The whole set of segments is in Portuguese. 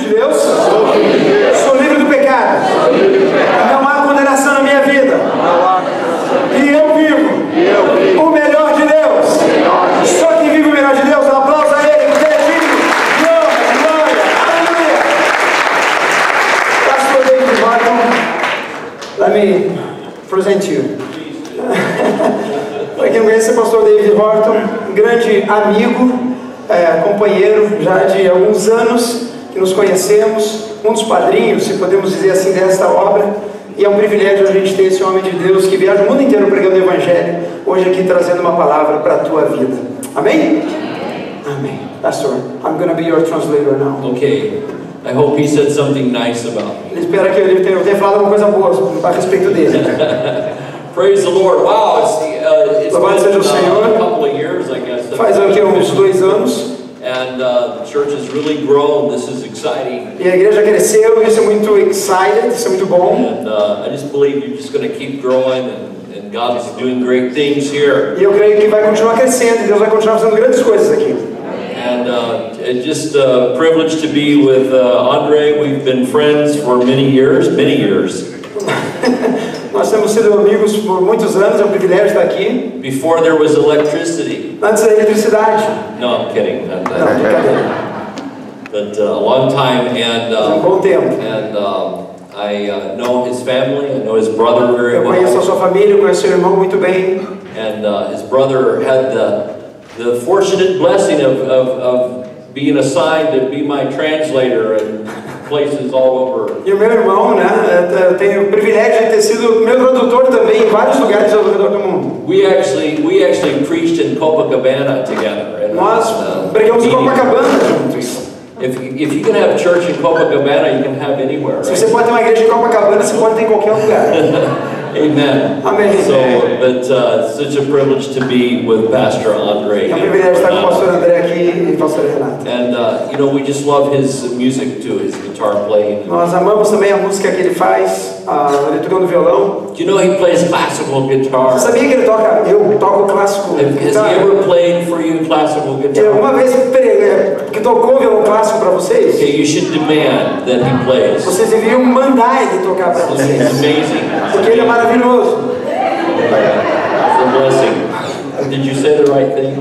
de Deus. Sou livre do pecado. Não há condenação na minha vida. E eu vivo o melhor de Deus. Só quem vive o melhor de Deus, um aplauso a Ele, porque Ele é digno. Glória, aleluia. Pastor David Horton, let me present you. Para quem não conhece, o pastor David Horton, um grande amigo, companheiro já de alguns anos que nos conhecemos, um dos padrinhos, se podemos dizer assim, desta obra. E é um privilégio a gente ter esse homem de Deus que viaja o mundo inteiro pregando o Evangelho, hoje aqui trazendo uma palavra para a tua vida. Amém? Amém. Pastor, I'm going to be your translator now. Okay. I hope he said something nice about me. Ele espera que eu tenha falado alguma coisa boa a respeito dele. Praise the Lord. Wow, it's Louvado seja o been Senhor. a couple of years, I guess. Faz aqui uns 2 anos. And the church has really grown. This is exciting. E a igreja cresceu, isso é muito exciting, isso é muito bom. And I just believe you're just going to keep growing, and God is doing great things here. E eu creio que vai continuar crescendo, e Deus vai continuar fazendo grandes coisas aqui. And it's just a privilege to be with Andre. We've been friends for many years, Nós temos sido amigos por muitos anos, é um privilégio estar aqui. Before there was electricity. Antes da eletricidade. No, I'm kidding. Não, brincadeira. But a long time, and Um bom tempo. I know his family. I know his brother very Eu conheço a well. sua família, eu conheço seu irmão muito bem. And his brother had the fortunate blessing of being assigned to be my translator in places all over. E o meu irmão, né, tem o privilégio de ter sido meu tradutor também em vários lugares ao redor do mundo. We actually preached in Copacabana together. Nós pregamos em Copacabana juntos. If you can have church in Copacabana, you can have anywhere. Se Right? você pode ter uma igreja em Copacabana, você pode ter em qualquer lugar. Amen. Amém. But such a privilege to be with Pastor Andre. É um privilégio estar com o pastor André aqui e o pastor Renato. And we just love his music too, his guitar playing. Nós amamos também a música que ele faz, ele tocando violão. Do you know he plays classical guitar? Você sabia que ele toca? Eu toco clássico. Has he ever played for you classical guitar? Uma vez que tocou violão clássico para vocês? Okay, you should demand that he plays. Vocês deviam mandar ele tocar para It's vocês. amazing. Porque ele é maravilhoso. It's a blessing. Did you say the right thing?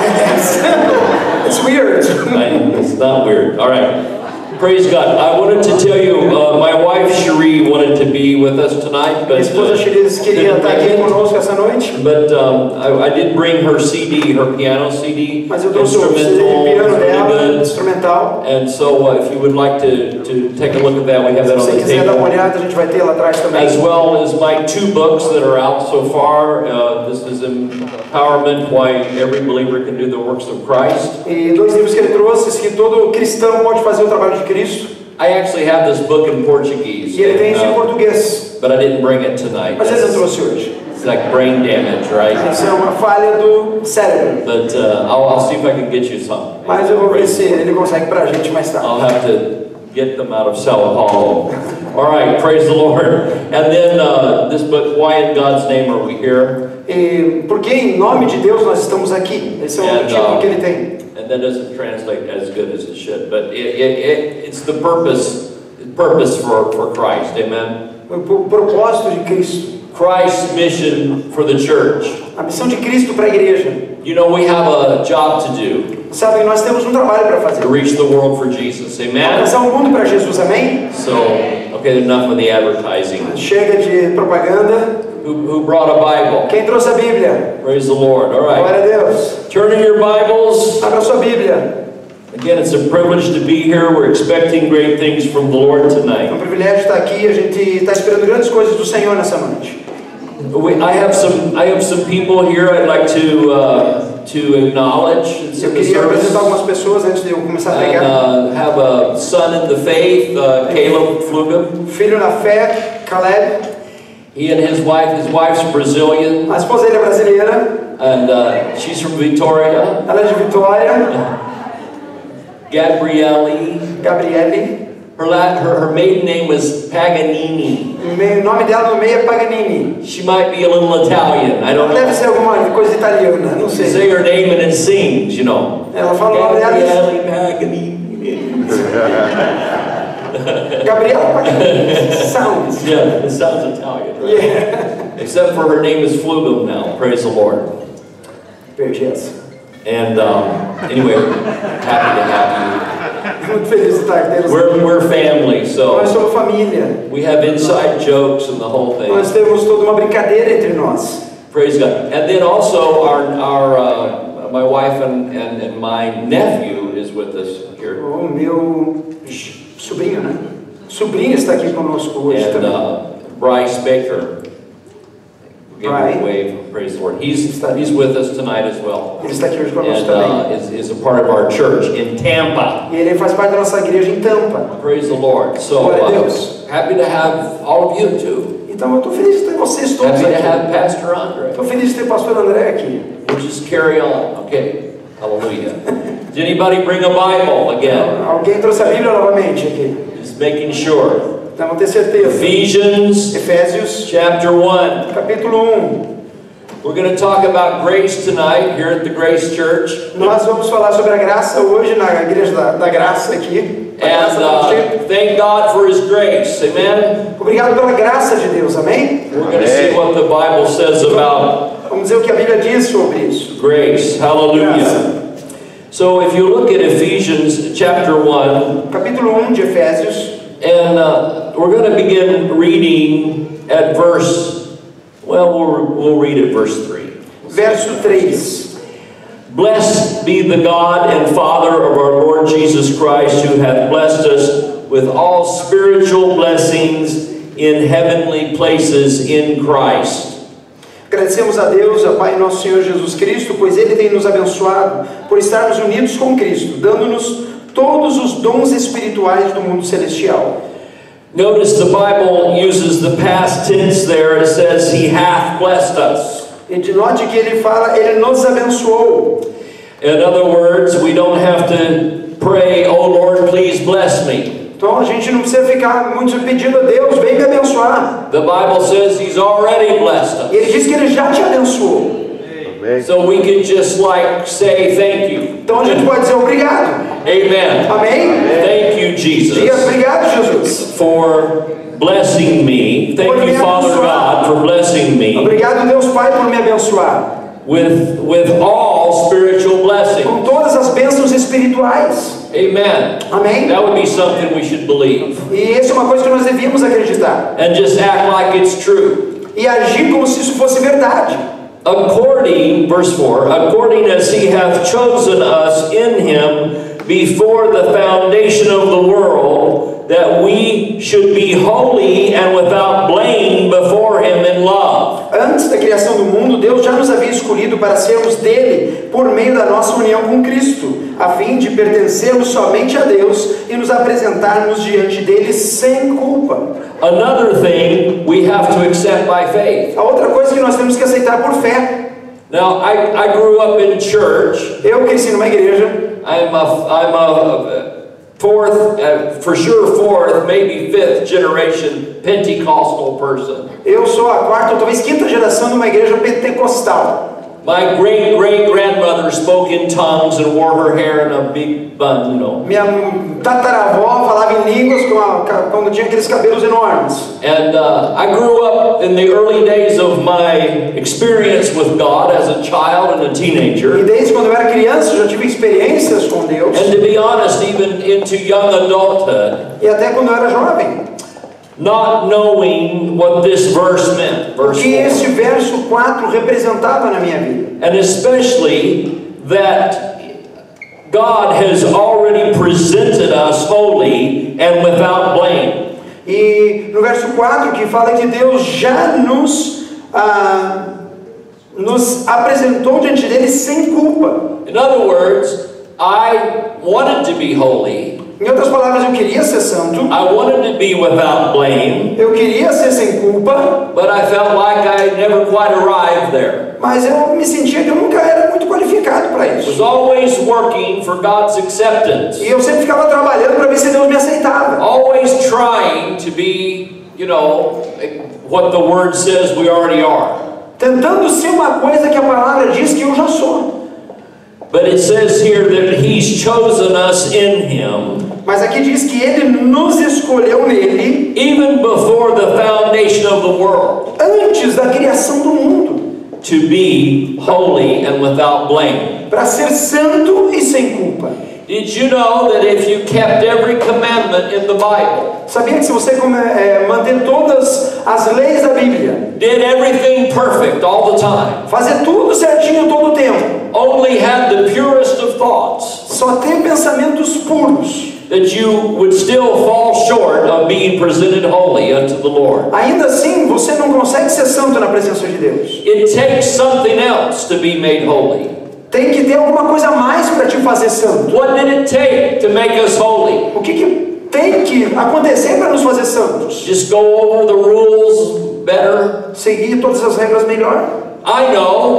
It's weird. It's not weird. All right. Praise God. I wanted to tell you, my wife Cherie wanted to be with us tonight, but Minha esposa Cherie queria estar aqui conosco essa noite. But I did bring her CD, her piano CD, Mas eu trouxe o CD de piano dela, instrumental. And so if you would like to take a look at that, we have that on Se the você quiser dar uma table. olhada, a gente vai ter lá atrás também. As well as my 2 books that are out so far. This is Empowerment, Why Every Believer Can Do the Works of Christ. E 2 livros que ele trouxe, que todo cristão pode fazer o trabalho de Cristo. I actually have this book in Portuguese. E ele tem isso em português. But I didn't bring it tonight. Mas ele não trouxe hoje. It's like brain damage, right? Isso é uma falha do cérebro. But I'll see if I can get you some. Mas eu vou ver se ele consegue pra gente mais tarde. I'll have to get them out of Sao Paulo. All right, praise the Lord. And then this book, Why in God's Name Are We Here? E porque em nome de Deus nós estamos aqui. Esse é o título que ele tem. And that doesn't translate as good as it should, but it's the purpose for Christ. Amen. O propósito de Cristo. Christ's mission for the church. A missão de Cristo para a igreja. You know, we have a job to do. Sabe, nós temos um trabalho para fazer. To reach the world for Jesus. Amen. Alcançar o mundo para Jesus, amém? So, okay, enough of the advertising. Chega de propaganda. Who brought a Bible? Quem trouxe a Bíblia? Praise the Lord. All right. Glória a Deus. Turn in your Bibles. Abra sua Bíblia. Again, it's a privilege to be here. We're expecting great things from the Lord É tonight. um privilégio estar aqui. A gente está esperando grandes coisas do Senhor nessa noite. I have some people here I'd like to acknowledge. Eu queria apresentar algumas pessoas antes de eu começar a pregar. And have a son in the faith, Caleb Fluga. Filho na fé, Caleb. He and his wife's Brazilian, A esposa dele é brasileira. and she's from Victoria. Ela é de Vitória. Gabriele. Her maiden name was Paganini. O nome dela no meio é Paganini. She might be a little Italian. I don't Deve know. ser alguma coisa italiana, não sei. Say her name and it sings, you know. Ela fala o nome dela. Gabriele Paganini. Gabriela Paganini. Sounds. Yeah, it sounds Italian, right? Yeah. Except for her name is Flugel now. Praise the Lord. Perdi essa. And anyway, happy to have Muito feliz de estar aqui. you. We're family, Nós so somos família. we have inside jokes and the whole thing. Nós temos toda uma brincadeira entre nós. Praise God. And then also my wife and my nephew is with us here. O meu sobrinho, né? Sobrinho está aqui conosco hoje And também. Bryce Baker. Give him a Brian. wave. Praise the Lord. He's with us tonight as well. Ele está aqui hoje conosco And também. is a part of our church in Tampa. E ele faz parte da nossa igreja em Tampa. Praise the Lord. So Glória a Deus. happy to have all of you too. Então eu estou feliz de ter vocês todos Happy to aqui. have Pastor Andre. Estou feliz de ter o pastor André aqui. We'll just carry on. Okay. Hallelujah. Did anybody bring a Bible again? Alguém trouxe a Bíblia novamente aqui? Just making sure. Então vamos ter certeza. Ephesians Efésios, chapter 1. capítulo 1. We're going to talk about grace tonight here at the Grace Church. Nós vamos falar sobre a graça hoje na igreja da graça aqui. A graça do And thank God for His grace. Amen. Obrigado pela graça de Deus, amém? We're going to see what the Bible says about Vamos dizer o que a Bíblia diz sobre isso. grace. Hallelujah. So if you look at Ephesians chapter 1, Capítulo 1 de Efésios, and we're going to begin reading at we'll read at verse 3. verso 3. Blessed be the God and Father of our Lord Jesus Christ, who hath blessed us with all spiritual blessings in heavenly places in Christ. Agradecemos a Deus, a Pai nosso Senhor Jesus Cristo, pois Ele tem nos abençoado por estarmos unidos com Cristo, dando-nos todos os dons espirituais do mundo celestial. Notice the Bible uses the past tense there. It says, He hath blessed us. E note que ele fala, Ele nos abençoou. In other words, we don't have to pray, oh Lord, please bless me. Então a gente não precisa ficar muito pedindo a Deus, vem me abençoar. The Bible says He's already blessed E us. Ele diz que Ele já te abençoou. So we can just say thank you. Então a gente pode dizer obrigado. Amen. Amém? Thank you, Diga Jesus, obrigado, Jesus. for blessing me. Thank you, Father God, for blessing me Obrigado, Deus Pai, por me abençoar. with all spiritual blessings. Com todas as bênçãos espirituais. Amen. Amém? That would be something we should believe. E isso é uma coisa que nós devíamos acreditar. And just act like it's true. E agir como se isso fosse verdade. According, verse 4, according as He hath chosen us in Him before the foundation of the world, that we should be holy and without blame before Him in love. Antes da criação do mundo, Deus já nos havia escolhido para sermos dele por meio da nossa união com Cristo, a fim de pertencermos somente a Deus e nos apresentarmos diante dele sem culpa. Another thing we have to accept by faith. A outra coisa que nós temos que aceitar por fé. Now, I grew up in church. Eu cresci numa igreja. I'm a fourth, maybe fifth generation Pentecostal person. Eu sou a quarta ou talvez quinta geração de uma igreja pentecostal. My great-great-grandmother spoke in tongues and wore her hair in a big bun, you know. Minha tataravó falava em línguas quando tinha aqueles cabelos enormes. And I grew up in the early days of my experience with God as a child and a E teenager. desde quando eu era criança eu já tive experiências com Deus. And to be honest, even into young adulthood, E até quando eu era jovem. not knowing what this verse meant, O verse que 4. esse verso 4 representava na minha vida. And especially that God has already presented us holy and without blame. E no verso 4 que fala que Deus já nos apresentou diante dele sem culpa. In other words, I wanted to be holy. Em outras palavras, eu queria ser santo. I wanted to be without blame. Eu queria ser sem culpa. But I felt like I never quite arrived there. Mas eu me sentia que eu nunca era muito qualificado para I was isso. always working for God's acceptance. E eu sempre ficava trabalhando para ver se Deus me aceitava. Always trying to be, what the Word says we already are. Tentando ser uma coisa que a palavra diz que eu já sou. But it says here that He's chosen us in Him Mas aqui diz que Ele nos escolheu nele even before the foundation of the world, antes da criação do mundo, to be holy and without blame. para ser santo e sem culpa. Did you know that if you kept every commandment in the Bible, Sabia que se você manter todas as leis da Bíblia, did everything perfect all the time, fazer tudo certinho todo o tempo, only had the purest of thoughts, só ter pensamentos puros, that you would still fall short of being presented holy unto the Lord? ainda assim você não consegue ser santo na presença de Deus. It takes something else to be made holy. Tem que ter alguma coisa a mais para te fazer santo. What did it take to make us holy? O que tem que acontecer para nos fazer santos? Just go over the rules better? Seguir todas as regras melhor? I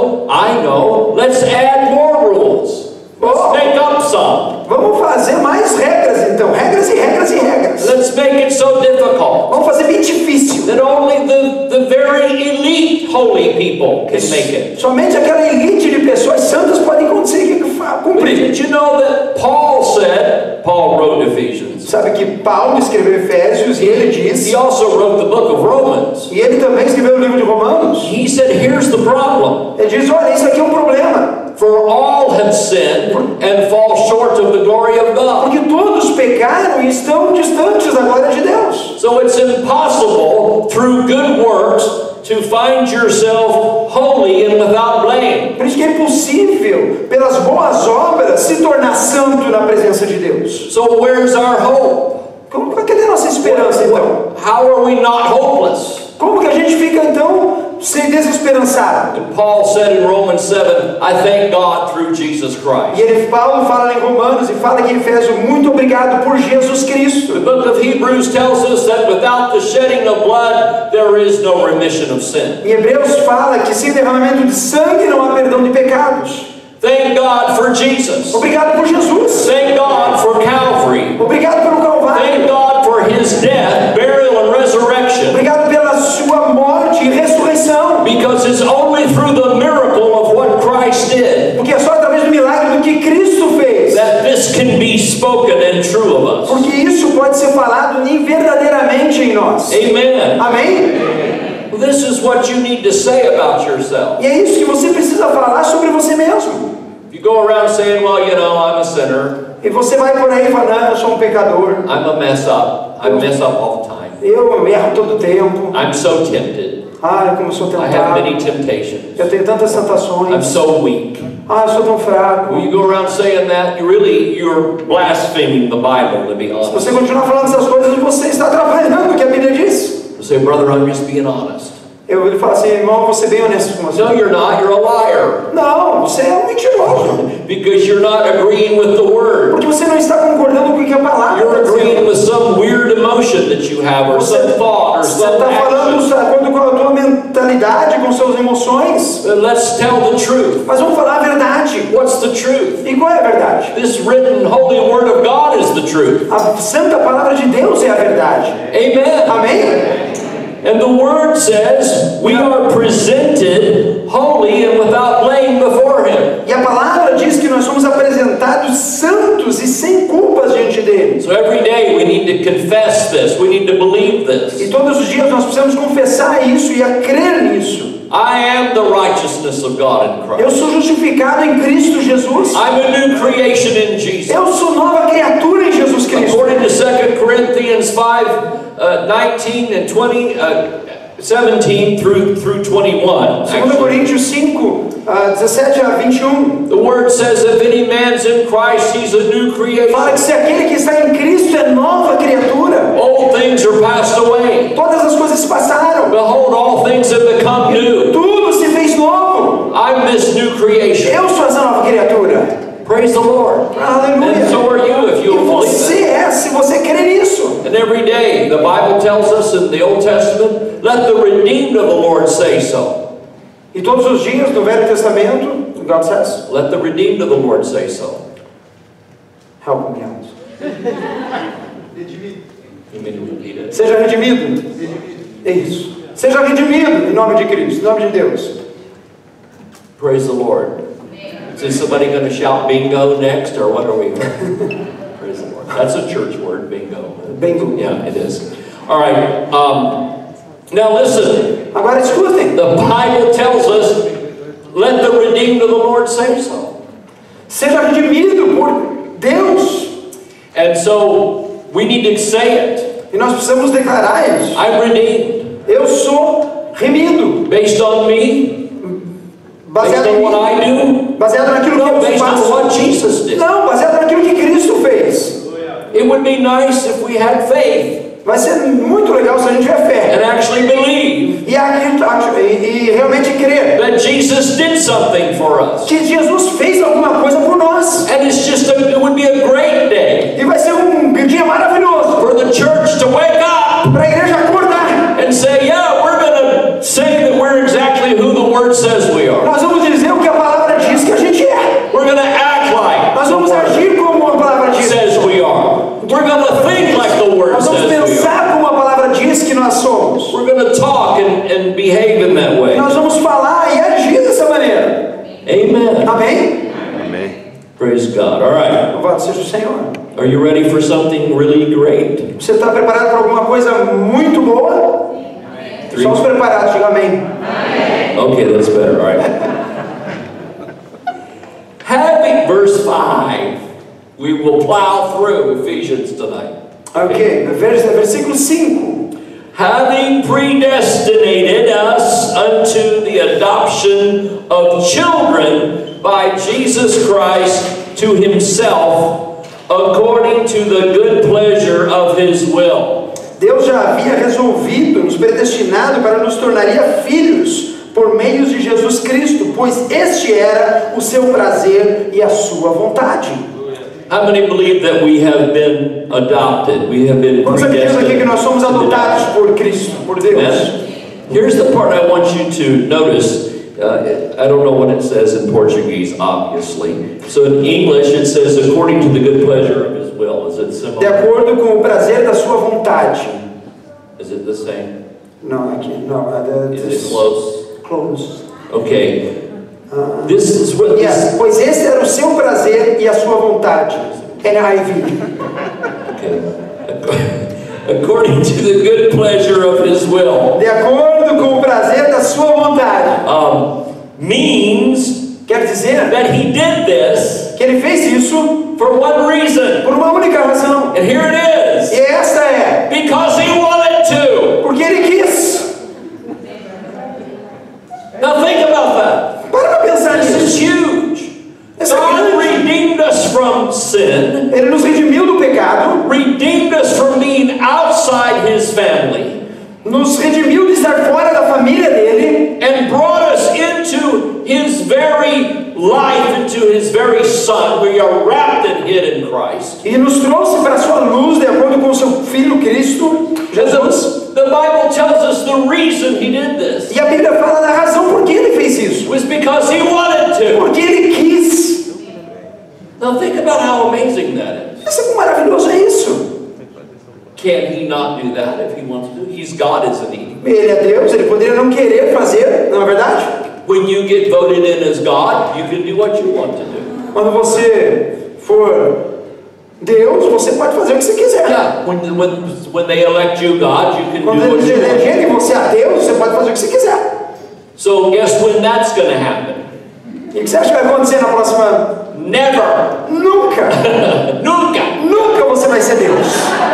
know. Let's add more rules. Let's make up some. Vamos fazer mais regras então. Regras e regras e regras. Let's make it so difficult Vamos fazer bem difícil. that only the very elite holy people can make it. Somente aquela elite de pessoas santas podem conseguir cumprir. Did you know that Paul wrote Ephesians? Sabe que Paulo escreveu Efésios e ele diz, He also wrote the book of Romans. e ele também escreveu o livro de Romanos. He said, here's the problem. Ele diz, olha, isso aqui é um problema. For all have sinned and fall short of the glory of God. Porque todos pecaram e estão distantes da glória de Deus. So it's impossible through good works to find yourself holy and without blame. Por isso que é impossível, pelas boas obras, se tornar santo na presença de Deus. So where's our hope? Cadê a nossa esperança então? How are we not hopeless? Como que a gente fica então sem desesperançado? And Paul said in Romans 7, I thank God through Jesus Christ. E Paulo fala em Romanos e fala aqui em Efésios, muito obrigado por Jesus Cristo. The book of Hebrews tells us that without the shedding of blood, there is no remission of sin. Em Hebreus fala que sem derramamento de sangue não há perdão de pecados. Thank God for Jesus. Obrigado por Jesus. Thank God for Calvary. Obrigado pelo Calvário. Thank God for His death, burial, and resurrection. Obrigado pela sua morte e ressurreição. Because it's only through the miracle of what Christ did Porque é só através do milagre do que Cristo fez. that this can be spoken and true of us. Porque isso pode ser falado verdadeiramente em nós. Amen. Amém? This is what you need to say about yourself. E é isso que você precisa falar sobre você mesmo. If you go around saying, well, you know, I'm a sinner, E você vai por aí falando, eu sou um pecador. I'm a mess up, I mess up all the time, Eu erro todo tempo. I'm so tempted, Ai, como eu sou I have tentado. many temptations, Eu tenho tantas I'm tentações. so weak. Ah, eu sou tão fraco. When you go around saying that, you're blaspheming the Bible, to be Se honest. você continuar falando essas coisas, você está atrapalhando o que a Bíblia diz. You say, brother, I'm just being honest. Ele fala assim, irmão, eu vou ser bem honesto com você. No, you're not, you're a liar. Não, você é um mentiroso. Because you're not agreeing with the Word. Porque você não está concordando com o que a palavra You're está agreeing dizendo. with some weird emotion that you have, or some thought, or Você some está falando action. de acordo com a tua mentalidade, com suas emoções. Let's tell the truth. Mas vamos falar a verdade. What's the truth? E qual é a verdade? This written holy Word of God is the truth. A santa palavra de Deus é a verdade. Amen. Amém? And the Word says we are presented holy and without blame before Him. E a palavra diz que nós somos apresentados santos e sem culpas diante dele. So every day we need to confess this. We need to believe E this. todos os dias nós precisamos confessar isso e a crer nisso. I am the righteousness of God in Eu Christ. sou justificado em Cristo Jesus. I'm a new creation in Jesus. Eu sou nova criatura em Jesus Cristo. According to 2 Corinthians 5:19 and 17 through 21. 2 actually. Coríntios 5, 17 a 21. The Word says, if any man's in Christ, he's a new creation. Fala que se aquele que está em Cristo é nova criatura. Old things are passed away. Todas as coisas se passaram. Behold, all things have become new. Tudo se fez novo. I'm this new creation. Eu sou essa nova criatura. Praise the Lord. Aleluia. And so are you if E you'll believe você it. é, se você crer nisso. And every day, the Bible tells us in the Old Testament, let the redeemed of the Lord say so. E todos os dias do Velho Testamento, God says, Let the redeemed of the Lord say so. help me out. You mean to repeat it? Seja redimido. É isso. Seja redimido em nome de Cristo, em nome de Deus. Praise the Lord. Is somebody going to shout bingo next, or what are we? Praise the Lord. That's a church word, bingo. Bingo. Yeah, it is. All right. Now listen. Agora escutem. The Bible tells us, let the redeemed of the Lord say so. Seja redimido por Deus. And so we need to say it. E nós precisamos declarar isso. I'm redeemed. Eu sou remido. Based on me? Baseado Based on em what I do? Baseado naquilo que No, eu based on faço. what Jesus did. Não, baseado naquilo que Cristo fez. It would be nice if we had faith Vai ser muito legal se a gente tiver fé. and actually believe E realmente crer that Jesus did something for us. que Jesus fez alguma coisa por nós. And it would be a great day E vai ser dia maravilhoso for the church to wake up para a igreja acordar. and say, yeah, we're going to say that we're exactly who the Word says we are. Nós vamos dizer o que a palavra diz que a gente é. We're going to act like Nós the vamos Word agir como a palavra diz. says we are. We're going to think like the Word Nós vamos says we are. pensar como a palavra diz que nós somos. We're going to talk and behave in that way. Nós vamos falar e agir dessa maneira. Amen. Amém? Praise God. All right. Louvado seja o Senhor. Are you ready for something really great? Você está preparado para alguma coisa muito boa? Estamos preparados, diga amém. Okay, that's better. All right. Having, verse 5, we will plow through Ephesians tonight. Ok, versículo 5. Having predestinated us unto the adoption of children by Jesus Christ to himself, according to the good pleasure of his will. Deus já havia resolvido, nos predestinado para nos tornaria filhos por meio de Jesus Cristo, pois este era o seu prazer e a sua vontade. How many believe that we have been adopted? We have been Quantos acreditam aqui que predestined. nós somos adotados por Cristo, por Deus? Amen? Here's the part I want you to notice. I don't know what it says in Portuguese, obviously. So in English it says, according to the good pleasure of his will. Is it De similar? acordo com o prazer da sua vontade. Is it the same? Não, aqui, não. Is it close? Close. Okay. This is what Yes, pois esse era o seu prazer e a sua vontade. NIV. Okay. According to the good pleasure of his will. De acordo com o prazer da sua vontade. Means Quer dizer that he did this que ele fez isso for one reason. por uma única razão. And here it is. E esta é Because he wanted to. porque ele quis. Now think about that. Para pensar This is nisso. huge. Essa é God grande. redeemed us from sin, Ele nos redimiu do pecado, redeemed us from being outside his family, nos redimiu de estar fora da família dele and brought us into his very life, into his very Son. We are wrapped and hid in Christ. e nos trouxe para a sua luz de acordo com o seu Filho Cristo, Jesus. The Bible tells us the reason he did this E a Bíblia fala da razão por que ele fez isso. was because he wanted to. Porque ele quis. Now think about how amazing that is. Pensa como maravilhoso é isso. Can he not do that if he wants to? He's God, isn't he? Ele é Deus, ele poderia não querer fazer, não é verdade? When you get voted in as God, you can do what you want to do. Quando você for Deus, você pode fazer o que você quiser. Yeah, when they elect you God, you can Quando do what eles you want. elegerem você a Deus, você pode fazer o que você quiser. So guess when that's going to happen? E o que você acha que vai acontecer na próxima? Never. Nunca! Nunca. Nunca você vai ser Deus.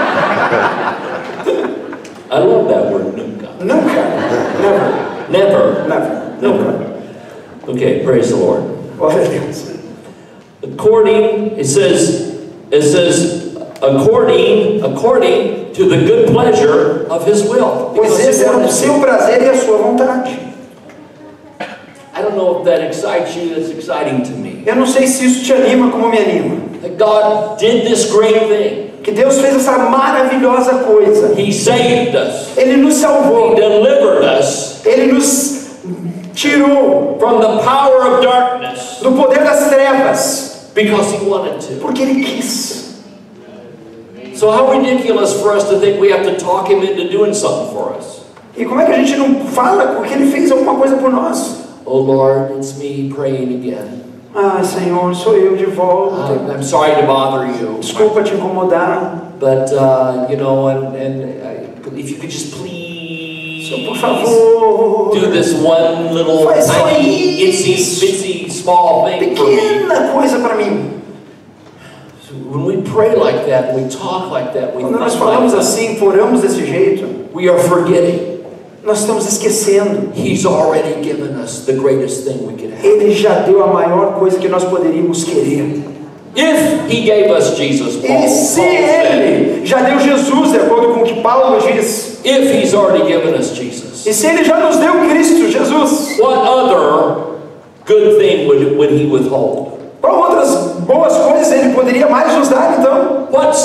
I love that word, nunca. Nunca. Never. Never. Never. Nunca. Okay, praise the Lord. Glória a Deus. According, it says, according to the good pleasure of his will. Pois Because esse he é o wanted to. seu prazer e a sua vontade. I don't know if that excites you. That's exciting to me. Eu não sei se isso te anima como me anima. That God did this great thing. Que Deus fez essa maravilhosa coisa. He saved us. Ele nos He salvou. delivered us Ele nos tirou from the power of darkness do poder das trevas. because he wanted to. Porque Ele quis. So how ridiculous for us to think we have to talk him into doing something for us. E como é que a gente não fala porque Ele fez alguma coisa por nós? Oh Lord, it's me praying again. Ah, Senhor, sou eu de volta. I'm sorry to bother you. Desculpa te incomodar. But, you know, if you could just please Por favor, do this one little faz só tiny, itsy, isso. bitsy, small thing for me. Pequena coisa para mim. So when we pray like that, we talk like that, we Quando nós think falamos like that, assim, oramos desse jeito, we are forgetting nós estamos esquecendo. He's already given us the greatest thing we could have. Ele já deu a maior coisa que nós poderíamos querer. If He gave us Jesus, Paul E se said, Ele já deu Jesus, de acordo com o que Paulo diz, if He's already given us Jesus, e se Ele já nos deu Cristo, Jesus, what other good thing would He withhold? qual outras boas coisas Ele poderia mais nos dar, então?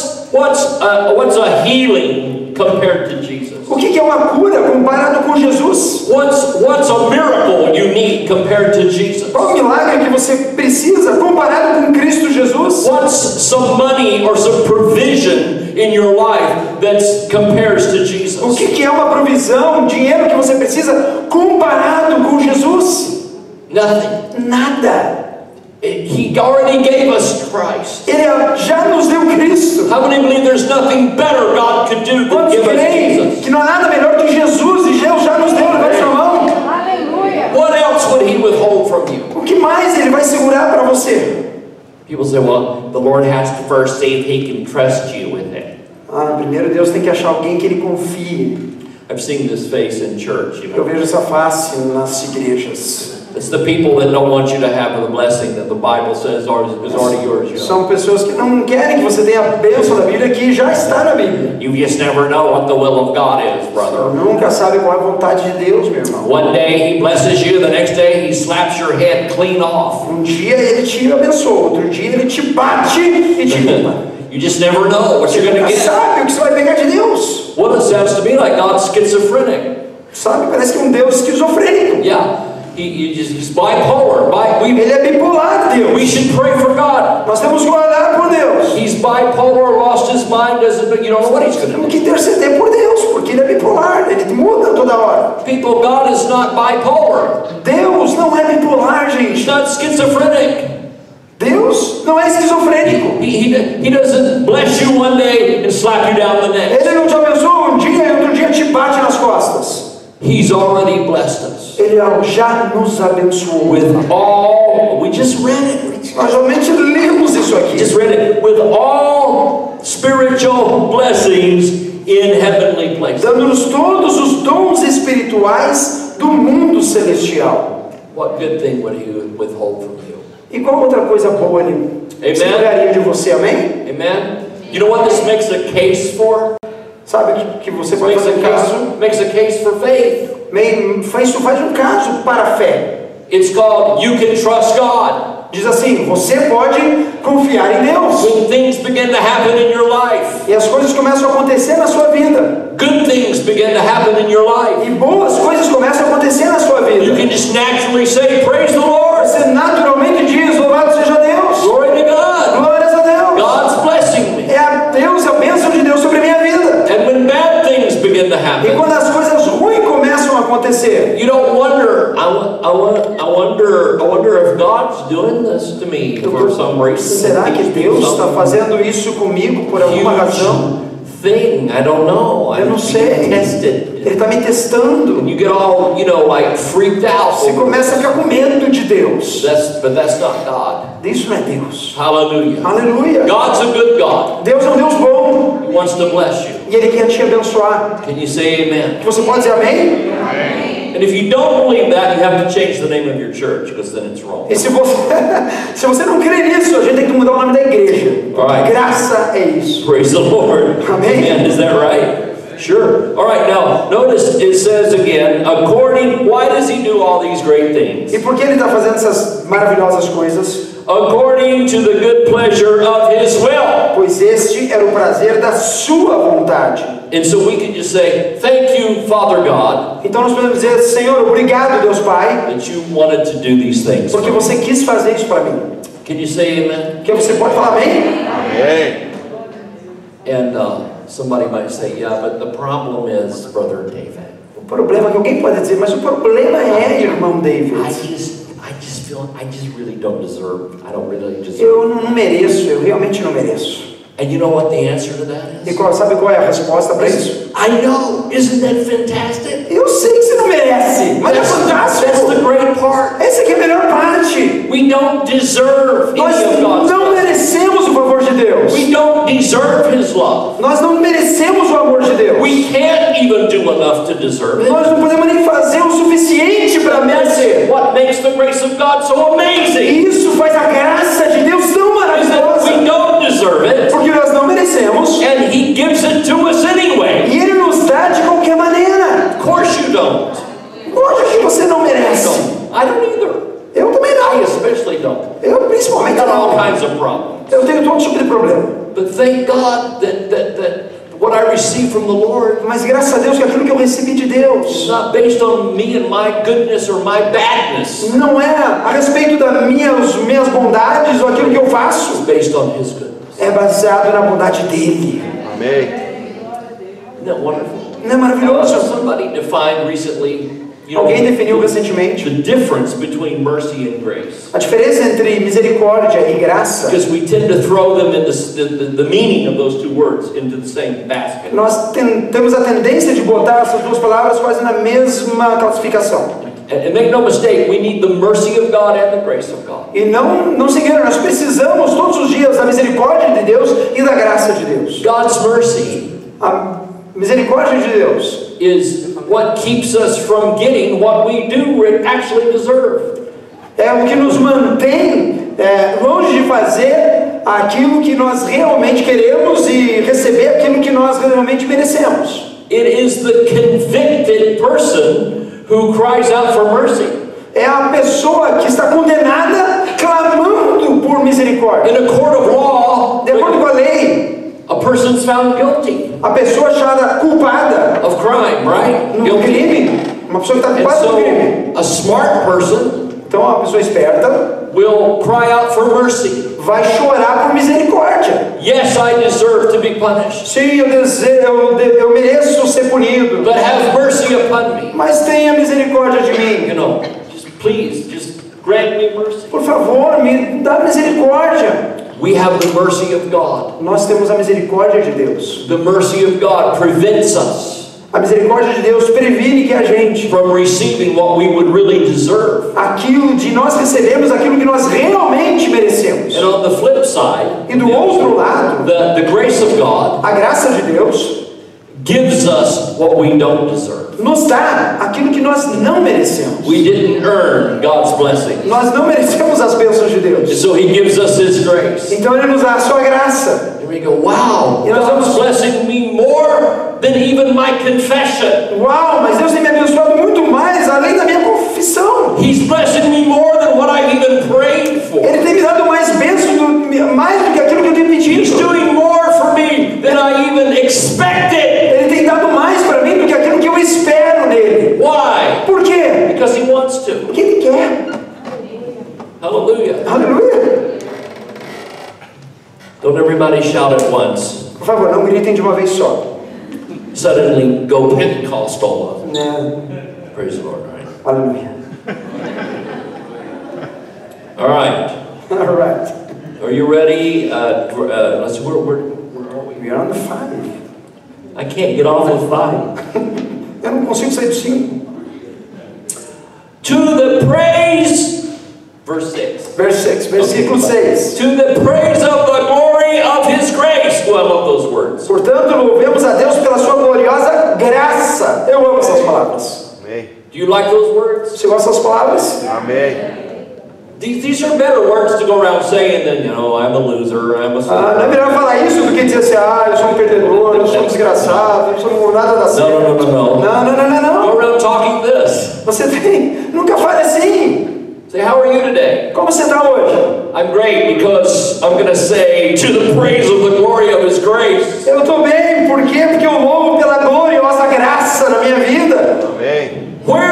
What's a healing compared to Jesus? O que é uma cura comparado com Jesus? What's a miracle you need compared to Jesus? Qual o milagre que você precisa comparado com Cristo Jesus? What's some money or some provision in your life that compares to O Jesus? que é uma provisão, dinheiro que você precisa comparado com Jesus? Nothing. Nada. He already gave us Christ. Ele já nos deu Cristo. How many believe there's nothing better God could do than Quantos give us creem Jesus? que não há nada melhor que Jesus e Deus já nos deu na nossa mão? Aleluia. What else would He withhold from you? O que mais Ele vai segurar para você? People say, well, the Lord has to first see if He can trust you with it. Primeiro Deus tem que achar alguém que Ele confie. I've seen this face in church, you Eu know. vejo essa face nas igrejas. It's the people that don't want you to have the blessing that the Bible says is already yours. You know? São pessoas que não querem que você tenha a bênção da Bíblia que já está na Bíblia. You just never know what the will of God is, brother. Nunca sabe qual é a vontade de Deus, meu irmão. One day He blesses you, the next day He slaps your head clean off. Dia Ele te abençoa, outro dia Ele te bate e te limpa. You just never know what Você you're going nunca to get. sabe o que você vai pegar de Deus. Well, it sounds to me like God's schizophrenic. Sabe, parece que é um Deus esquizofrênico. Yeah, he's bipolar. Ele é bipolar, We Deus. should pray for God. Nós temos que orar por Deus. He's bipolar, lost his mind, you don't know what he's going to Temos do. que interceder por Deus, porque Ele é bipolar, Ele muda toda hora. People, God is not bipolar. Deus não é bipolar, He's gente. not schizophrenic. Deus não é esquizofrênico. He doesn't bless you one day and slap you down the neck. Ele não te abençoa um dia e outro dia te bate nas costas. He's already blessed us Ele já nos abençoou. with all, we just read it. Nós realmente lemos isso aqui. Just read it, with all spiritual blessings in heavenly places. Dando-nos todos os dons espirituais do mundo celestial. What good thing would He withhold from you? E qual outra coisa boa Ele seguraria de você, amém? Amen. You know what this makes a case for? Sabe que você pode fazer caso? Makes a case for faith. Isso faz um caso para a fé. It's called you can trust God. Diz assim, você pode confiar em Deus. When things begin to happen in your life, E as coisas começam a acontecer na sua vida. good things begin to happen in your life. E boas coisas começam a acontecer na sua vida. You can just naturally say, praise the Lord. Você naturalmente diz, louvado seja Deus. Glory to God. Glórias a Deus. God's blessing me. É a Deus, a bênção de Deus sobre a minha vida. And when bad things begin to E happen, quando as coisas ruins começam a acontecer, you don't wonder, I wonder if God's doing this to me for some reason. será que Deus está fazendo isso comigo por alguma razão? Thing, I don't know. Eu não I'm sei. being tested. Ele está me testando. And you get all, like freaked out. Você começa a ficar com medo de Deus. But that's not God. Isso não é Deus. Hallelujah. Aleluia. God's a good God. Deus é um Deus bom. He wants to bless you. E Ele quer te abençoar. Can you say amen? Você pode dizer amém? And if you don't believe that, you have to change the name of your church because then it's wrong. E se você não crê nisso, a gente tem que mudar o nome da igreja. Alright. Graça é isso. Praise the Lord. Amen. Amen. Is that right? Sure. All right. Now, notice it says again, why does He do all these great things? E por que Ele está fazendo essas maravilhosas coisas? According to the good pleasure of His will. Pois este era o prazer da sua vontade. And so we can just say, thank you, Father God, Então nós podemos dizer, Senhor, obrigado, Deus Pai, that you wanted to do these things. porque você quis fazer isso para mim. Can you say amen? Porque você pode falar amém? And somebody might say, yeah, but the problem is, Brother David, O problema é que alguém pode dizer, mas o problema é, irmão David. I just feel I just really don't deserve. I don't really deserve. Eu não mereço, eu realmente não mereço. And you know what the answer to that E is? sabe qual é a resposta para isso? I know. Isn't that fantastic? Eu sei que você não merece, mas é fantástico. That's the great part. Essa aqui é a melhor parte. We don't deserve Nós any of God's não love. merecemos o favor de Deus. We don't deserve His love. Nós não merecemos o amor de Deus. We can't even do enough to deserve it. Nós não podemos nem fazer o suficiente para merecer. What makes the grace of God so amazing? E isso faz a graça de Deus tão Is that maravilhosa. we don't deserve it, Porque nós não merecemos. and He gives it to us anyway. E Ele nos dá de qualquer maneira. Of course you don't. Lógico que você não merece. I don't either. Eu também I não. especially don't. Eu I principalmente got all não. kinds of problems. Eu tenho todo tipo de problema. But thank God that what I receive from the Lord Mas graças a Deus que aquilo que eu recebi de is Deus not based on me and my goodness or my badness. não é a respeito das minhas bondades ou aquilo que eu faço. It's based on His goodness. É baseado na bondade dEle. Amém. Isn't that wonderful? Não é maravilhoso? Somebody defined recently, Alguém definiu recentemente the difference between mercy and grace. a diferença entre misericórdia e graça. Because we tend to throw them in the meaning of those two words into the same basket. Nós temos a tendência de botar essas duas palavras quase na mesma classificação. And make no mistake, we need the mercy of God and the grace of God. E não se engane, nós precisamos todos os dias da misericórdia de Deus e da graça de Deus. God's mercy A misericórdia de Deus is what keeps us from getting what we do actually deserve. é o que nos mantém longe de fazer aquilo que nós realmente queremos e receber aquilo que nós realmente merecemos. It is the convicted person who cries out for mercy. É a pessoa que está condenada clamando por misericórdia. In a court of law, De acordo com a lei, a person's found guilty a pessoa achada culpada of crime, right? no Guilty. crime, uma pessoa que está And culpada no crime. so, a smart person Então, uma pessoa esperta will cry out for mercy. vai chorar por misericórdia. Yes, I deserve to be punished, Sim, eu mereço ser punido, but have mercy upon me. mas tenha misericórdia de mim. You know, just grant me mercy. Por favor, me dá misericórdia. We have the mercy of God. Nós temos a misericórdia de Deus. The mercy of God prevents us A misericórdia de Deus previne que a gente, from receiving what we would really deserve. nós recebemos aquilo que nós realmente merecemos. And on the flip side, E do outro lado, the grace of God a graça de Deus gives us what we don't deserve. nos dá aquilo que nós não merecemos. We didn't earn God's blessing. Nós não merecemos as bênçãos de And Deus. so He gives us His grace. Então Ele nos dá a sua graça. And we go, wow, E nós God's vamos, blessing me more than even my confession. uau, mas Deus tem me abençoado muito mais além da minha confissão. He's blessing me more than what I've even prayed for. Ele tem me dado mais bênçãos, mais do que aquilo que eu tenho He's pedido. doing more for me than I even expected. Ele tem dado mais para mim do que aquilo que eu espero nele. Why? Por quê? Because He wants to. Porque Ele quer. Hallelujah. Aleluia. Don't everybody shout at once. Por favor, não gritem de uma vez só. Suddenly go Pentecostal. Né? Praise the Lord, right? Aleluia. All right. All right. Are you ready? Let's see, where are we? We are on the 5. I can't get off of 5. Eu não consigo sair do 5. To the praise, verse 6. Verso 6, versículo 6. To the praise of the glory of His grace. Oh, I love those words. Portanto, louvemos a Deus pela sua gloriosa graça. Eu amo essas palavras. Amém. Do you like those words? Você gosta dessas palavras? Amém. These are better words to go around saying than, you know, I'm a loser, I'm a Não é melhor falar isso do que dizer assim, eu sou um perdedor, eu sou um desgraçado, eu sou nada da certo. No. Não. Go around talking this. Você nunca fale assim. Say, how are you today? Como você está hoje? I'm great because I'm going to say to the praise of the glory of His grace. Eu estou bem, por quê? Porque eu louvo pela gloriosa graça na minha vida. Amém.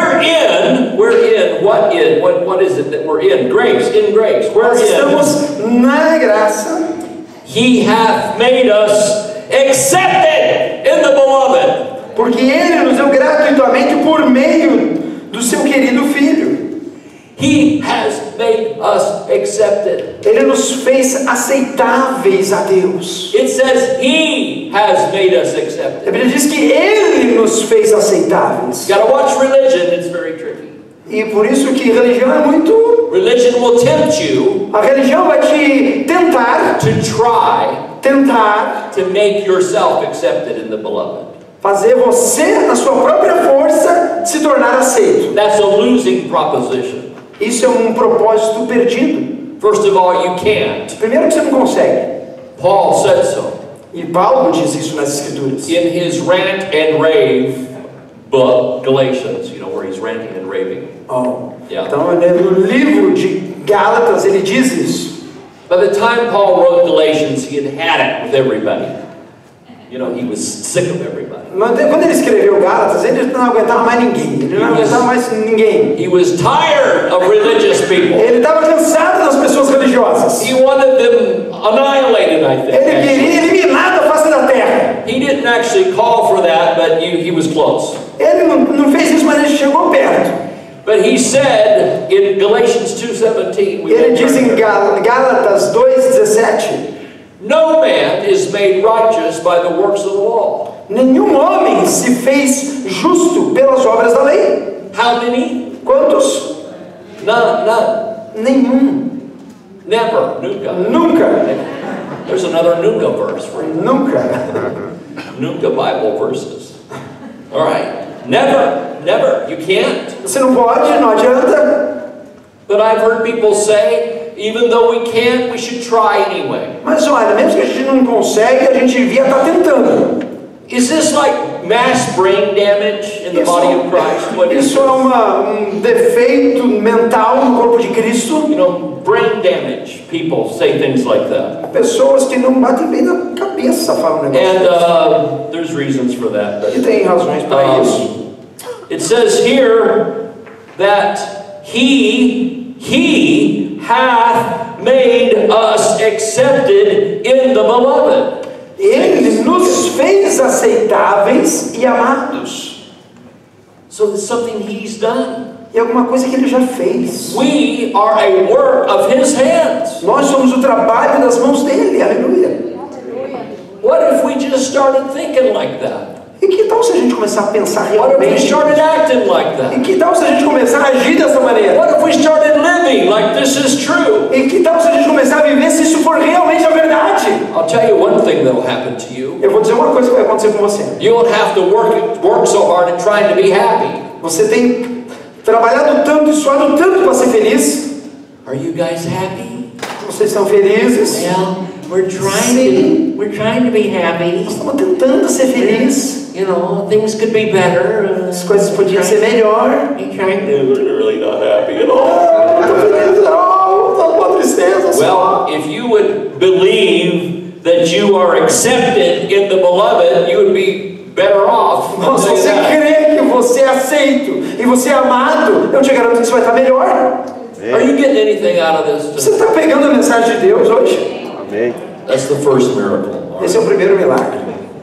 What is it that we're in? Grace, in grace. Nós Wherein estamos na graça. He hath made us accepted in the beloved. Porque Ele nos deu gratuitamente por meio do seu querido Filho. He has made us accepted. Ele nos fez aceitáveis a Deus. It says He has made us A accepted. Bíblia diz que Ele nos fez aceitáveis. You gotta watch religion, it's very tricky. E por isso que religião é muito... Religion will tempt you A religião vai te tentar to make yourself accepted in the beloved. fazer você, na sua própria força, se tornar aceito. That's a losing proposition. Isso é um propósito perdido. First of all, you can't. Primeiro que você não consegue. Paul said so E Paulo diz isso nas Escrituras. in his rant and rave book, Galatians, you know, where he's ranting and raving. Yeah. Então, no livro de Gálatas, ele diz isso. By the time Paul wrote Galatians, he had it with everybody. You know, he was sick of everybody. Mas quando ele escreveu Gálatas, ele não aguentava mais ninguém. Ele não aguentava mais ninguém. He was tired of religious people. Ele estava cansado das pessoas religiosas. He wanted them annihilated, I think. Ele queria eliminar da face da terra. He didn't actually call for that, but he was close. Ele não fez isso, mas ele chegou perto. But he said in Galatians 2:17, Ele diz em Gálatas 2:17, no man is made righteous by the works of the law. nenhum homem se fez justo pelas obras da lei. How many? Quantos? None. Nenhum. Never. Nunca. Nunca. There's another Nunca verse for you. Nunca. Nunca Bible verses. All right. Never. You can't. Você não pode, não adianta. But I've heard people say, even though we can't, we should try anyway. Mas olha, mesmo que a gente não consegue, a gente devia estar tentando. Is this like mass brain damage in the body of Christ? What is Isso é defeito mental no corpo de Cristo. You know, brain damage. People say things like that. Pessoas que não batem bem na cabeça falam negócio. And there's reasons for that. But, E tem razões para isso. It says here that He hath made us accepted in the beloved. Ele nos fez aceitáveis e amados. So it's something He's done. E alguma coisa que Ele já fez. We are a work of His hands. Nós somos o trabalho das mãos dele. Aleluia. What if we just started thinking like that? E que tal se a gente começar a pensar What if we realmente? started acting like E that? que tal se a gente começar a agir dessa maneira? What if we started living like this is true? E que tal se a gente começar a viver se isso for realmente a verdade? I'll tell you one thing that'll happen to you. Eu vou dizer uma coisa que vai acontecer com você. You won't have to work so hard at trying to be happy. Você tem trabalhado tanto e suado tanto para ser feliz. Are you guys happy? Vocês são felizes? Well, we're Sim. trying to be happy. Estamos tentando ser felizes. You know, things could be better. As coisas podiam ser melhor. We're really not happy at all. Não estou feliz, não. Estou com uma tristeza só. Well, if you would believe that you are accepted in the beloved, you would be better off. Se você crê que você é aceito e você é amado, eu te garanto que você vai estar melhor. Are you getting anything out of this? Você está pegando a mensagem de Deus hoje? Amém. That's the first miracle. Esse é o primeiro milagre.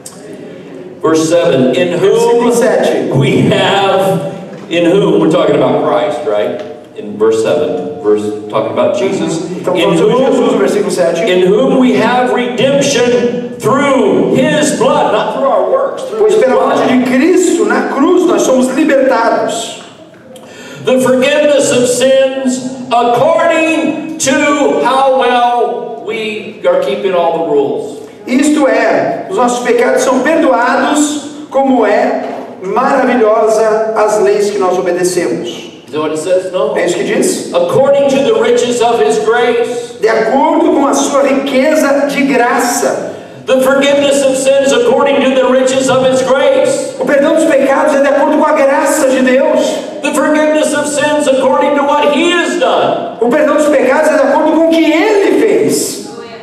Verse 7, in Versículo whom 7. we have, in whom, we're talking about Christ, right? In verse 7, talking about Jesus. Então falando sobre Jesus, versículo 7. In whom we have redemption through His blood, not through our works, through Pois His pela blood. morte de Cristo na cruz nós somos libertados. The forgiveness of sins according to how well we are keeping all the rules. Isto é, os nossos pecados são perdoados, como é maravilhosa as leis que nós obedecemos. Is that what it says? No. É isso que diz? According to the riches of His grace. De acordo com a sua riqueza de graça. The forgiveness of sins according to the riches of His grace. O perdão dos pecados é de acordo com a graça de Deus. The forgiveness of sins according to what He has done. O perdão dos pecados é de acordo com o que Ele fez.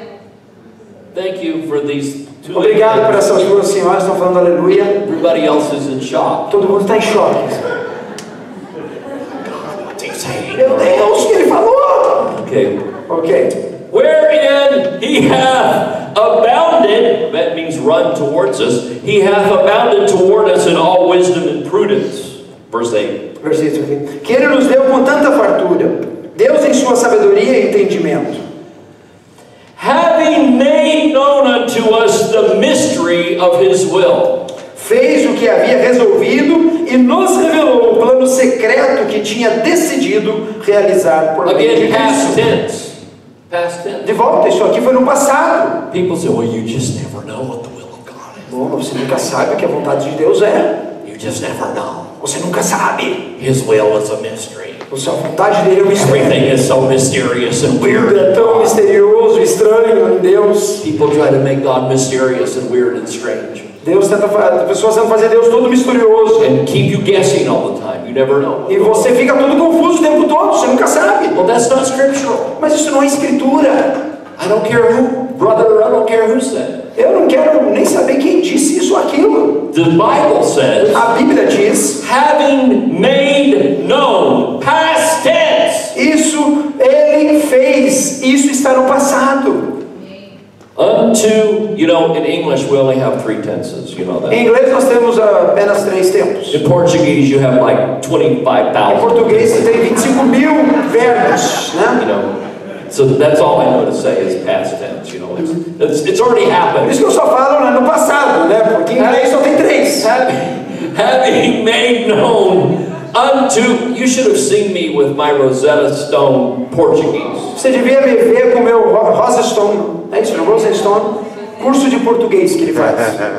Thank you for these two. Obrigado por essas duas senhoras que estão falando aleluia. Everybody else is in shock. Todo mundo está em choque. Meu Deus, o que ele falou? Okay. Ok. Wherein He hath abounded, that means run towards us, He hath abounded toward us in all wisdom and prudence. Verse 8. Versículo aqui. Que Ele nos deu com tanta fartura, Deus em sua sabedoria e entendimento, having made known unto us the mystery of his will. fez o que havia resolvido e nos revelou o plano secreto que tinha decidido realizar por meio de Again, past Cristo. tense. Past tense. De volta, isso aqui foi no passado. People say, well, you just never know what the will of God is. Bom, você nunca sabe o que a vontade de Deus é. You just never know. Você nunca sabe. His will is a mystery. A vontade dele é um mistério. Everything is so mysterious and weird. Tudo é tão misterioso, estranho em Deus. People try to make God mysterious and weird and strange. Deus tenta fazer, as pessoas tentam fazer Deus todo misterioso. And keep you guessing all the time. You never know. E você fica todo confuso o tempo todo, você nunca sabe. Well, that's not scriptural. Mas isso não é escritura. I don't care who, brother, I don't care who said. Eu não quero nem saber quem disse isso ou aquilo. The Bible says, A Bíblia diz, having made known, past tense, isso ele fez, isso está no passado. unto, you know, in English we only have 3 tenses, you know that. Em inglês nós temos apenas 3 tempos. In Portuguese you have like Em 25,000. português você tem 25.000 verbos, You né? know, so that's all I know to say is past tense, you know. It's already Por happened. isso que eu só falo no passado, né? Porque em inglês só tem 3. Having made known unto, you should have seen me with my Rosetta Stone Portuguese. Você devia me ver com o meu Rosa Stone, é isso, Rosa Stone, curso de português que ele faz.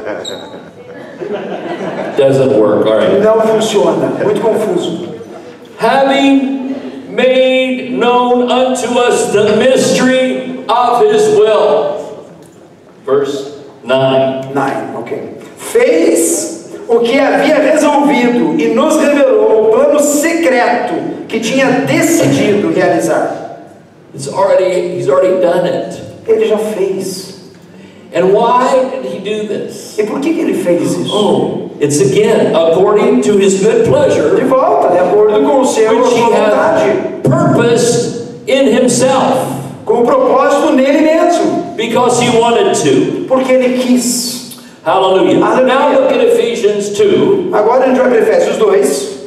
Doesn't work, all right. Não funciona, muito confuso. Having made known unto us the mystery of his will. Verse 9. 9, ok. Fez o que havia resolvido e nos revelou o plano secreto que tinha decidido realizar. He's already done it. Ele já fez. And why did he do this? E por que ele fez isso? Oh, it's again according to his good De pleasure, volta, de acordo com o seu which he vontade, had purposed in himself, com o propósito nele mesmo, because he wanted to. porque ele quis. Hallelujah. Hallelujah. Now look at Ephesians 2, Agora a gente vai para Efésios 2,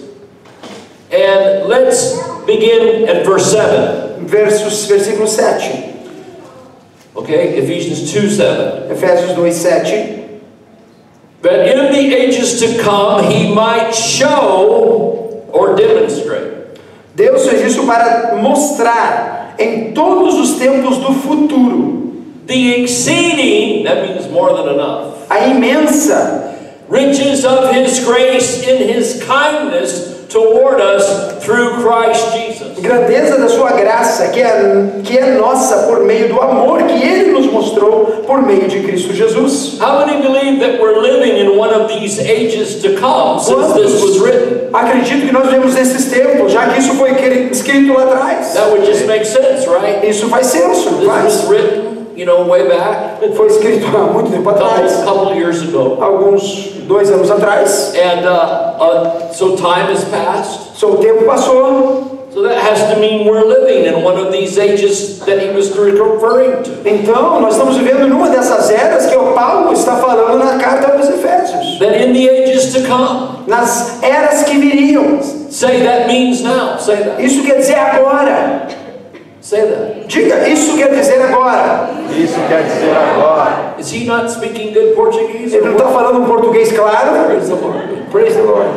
and let's begin at verse 7. versículo 7. Okay, Ephesians 2:7. Efésios 2, 7. That in the ages to come he might show or demonstrate. Deus fez isso para mostrar em todos os tempos do futuro The exceeding, that means more than enough, a imensa riches of his grace in his kindness toward us through Christ Jesus. grandeza da sua graça, que é nossa por meio do amor que Ele nos mostrou por meio de Cristo Jesus. How many believe that we're living in one of these ages to come since this was written? Acredito que nós vivemos nesses tempos, já que isso foi escrito lá atrás. That would just make sense, right? Isso faz senso, não This faz? was written, you know, way back, Foi escrito há muito tempo atrás, couple years ago. alguns 2 anos atrás. And so time has passed. Só o tempo passou. So that has to mean we're living in one of these ages that he was referring to. Então, nós estamos vivendo numa dessas eras que o Paulo está falando na carta aos Efésios. That in the ages to come. Nas eras que viriam. Say that means now. Say that. Isso quer dizer agora. Say that. Diga, isso quer dizer agora. Isso quer dizer agora. Is he not speaking good Portuguese? Ele não está falando um português claro. Praise the Lord. Praise the Lord.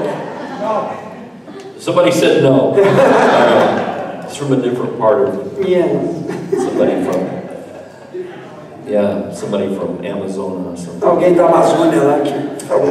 Somebody said no. It's from a different part of Yeah. somebody from Amazon or something. Alguém da Amazônia lá que falou.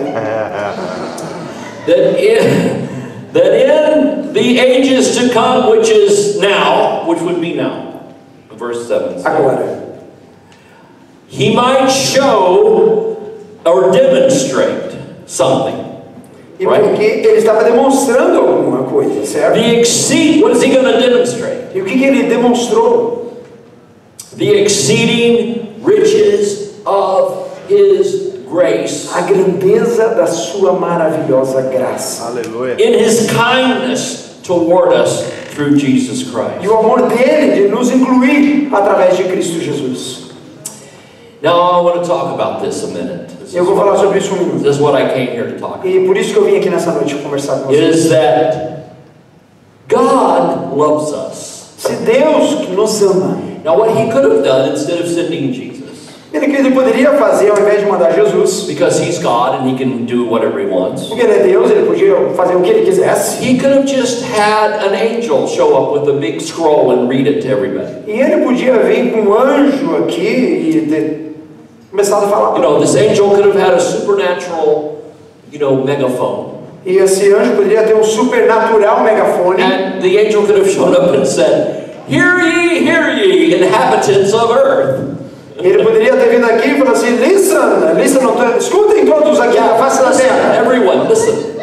That in the ages to come, which is now, which would be now, verse 7. Agora. He might show or demonstrate something. E porque ele estava demonstrando alguma coisa, certo? What is he going to demonstrate? E o que ele demonstrou? The exceeding riches of his grace. A grandeza da sua maravilhosa graça. Aleluia. In his kindness toward us through Jesus E Christ. o amor dele de nos incluir através de Cristo Jesus. Now I want to talk about this a minute. Eu vou falar sobre isso minuto. This is what I came here to talk about. E por isso que eu vim aqui nessa noite conversar com It vocês. is that God loves us. Se Deus que nos ama, Now what he could have done instead of sending Jesus, ele poderia fazer ao invés de mandar Jesus, because he's God and he can do whatever he wants, porque ele é Deus, ele podia fazer o que ele quisesse. he could have just had an angel show up with a big scroll and read it to everybody. E ele podia vir com um anjo aqui e começar a falar. You know, this angel could have had a supernatural, megaphone. E esse anjo poderia ter um supernatural megafone. And the angel could have shown up and said, hear ye, inhabitants of earth. E ele poderia ter vindo aqui e falado assim, escutem todos aqui na face da terra. Everyone, listen.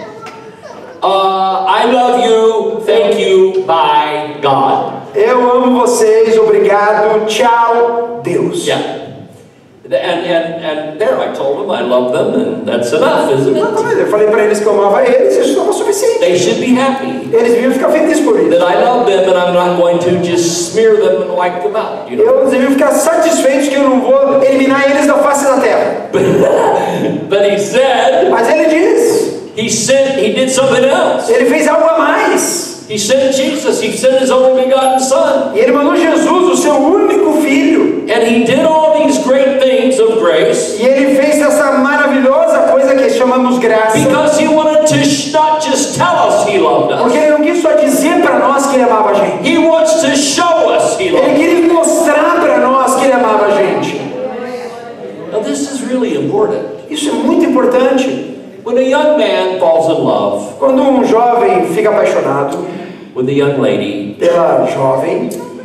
I love you, thank you, bye, God. Eu amo vocês, obrigado, tchau, Deus. Yeah. And there I told them I love them, and that's enough, isn't it? Eu falei para eles que eu amava eles, isso estava suficiente. They should be happy Eles deviam ficar felizes por isso. that I love them and I'm not going to just smear them and wipe them out. You know? Eles deviam ficar satisfeitos que eu não vou eliminar eles da face da terra. But he said, Mas ele diz, he did something else. ele fez algo a mais. He sent Jesus, he sent his only begotten Son. E ele mandou Jesus, o seu único filho. And he did all these great things of grace. E ele fez essa maravilhosa coisa que chamamos graça. Because he wanted to not just tell us he loved Porque us. ele não quis só dizer para nós que ele amava a gente. He wants to show us he loved Ele us. queria mostrar para nós que ele amava a gente. Now this is really important. Isso é muito importante. When a young man falls in love Quando um jovem fica apaixonado with a young lady, pela jovem,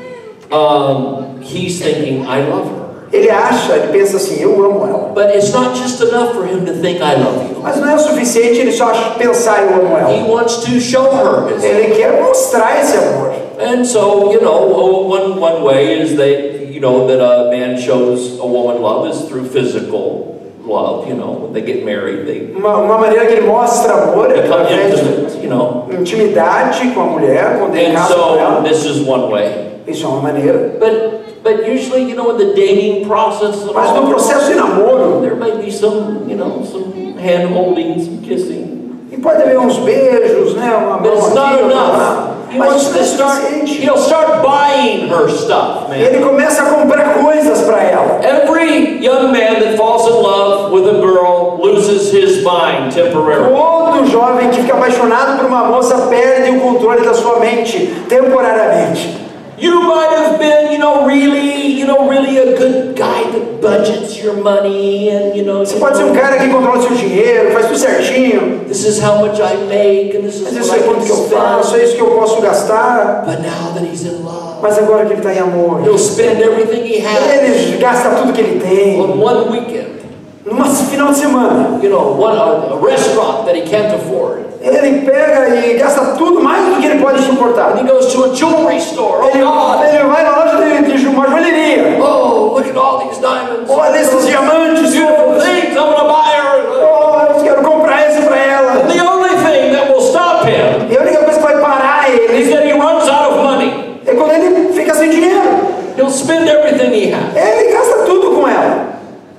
he's thinking, I love her. ele pensa assim, eu amo ela. But it's not just enough for him to think I love you. Mas não é o suficiente ele só pensar, eu amo He ela. wants to show her his love. Ele quer mostrar esse amor. And so, one way is that a man shows a woman love is through physical love. When they get married, Uma maneira que ele mostra amor é become através intimate, de intimidade com a mulher, quando ele And casa com so ela. this is one way. Isso é uma maneira. But usually, in the dating process and Mas no all, processo de namoro, there might be some hand holding, some kissing. e pode haver uns beijos, né? Uma But mão it's aqui, not outra lá. enough. He Mas wants isso to não é start. suficiente. He'll start buying her stuff, man. Ele começa a comprar coisas para ela. Every young man that falls in love with a girl loses his mind temporarily. Todo jovem que fica apaixonado por uma moça perde o controle da sua mente temporariamente. You might have been, really a good guy that budgets your money and Você pode ser um cara que controla seu dinheiro, faz tudo certinho. this is how much I make and this Mas is isso what é I quanto can que eu faço, spend. é isso que eu posso gastar. But now that he's in love, Mas agora que ele está em amor, he'll spend everything he has ele gasta tudo que ele tem. on one weekend. Num final de semana, A restaurant that he can't afford. ele pega e gasta tudo mais do que ele pode suportar. And he goes to a jewelry store. Oh God! Ele vai na loja de uma joalheria. Oh, look at all these diamonds. Olha esses diamantes. Beautiful things. I'm gonna buy her. Oh, eu quero comprar esse para ela. And the only thing that will stop him E a única coisa que vai parar is ele that he runs out of money. é quando ele fica sem dinheiro. He'll spend everything he has. Ele gasta tudo com ela.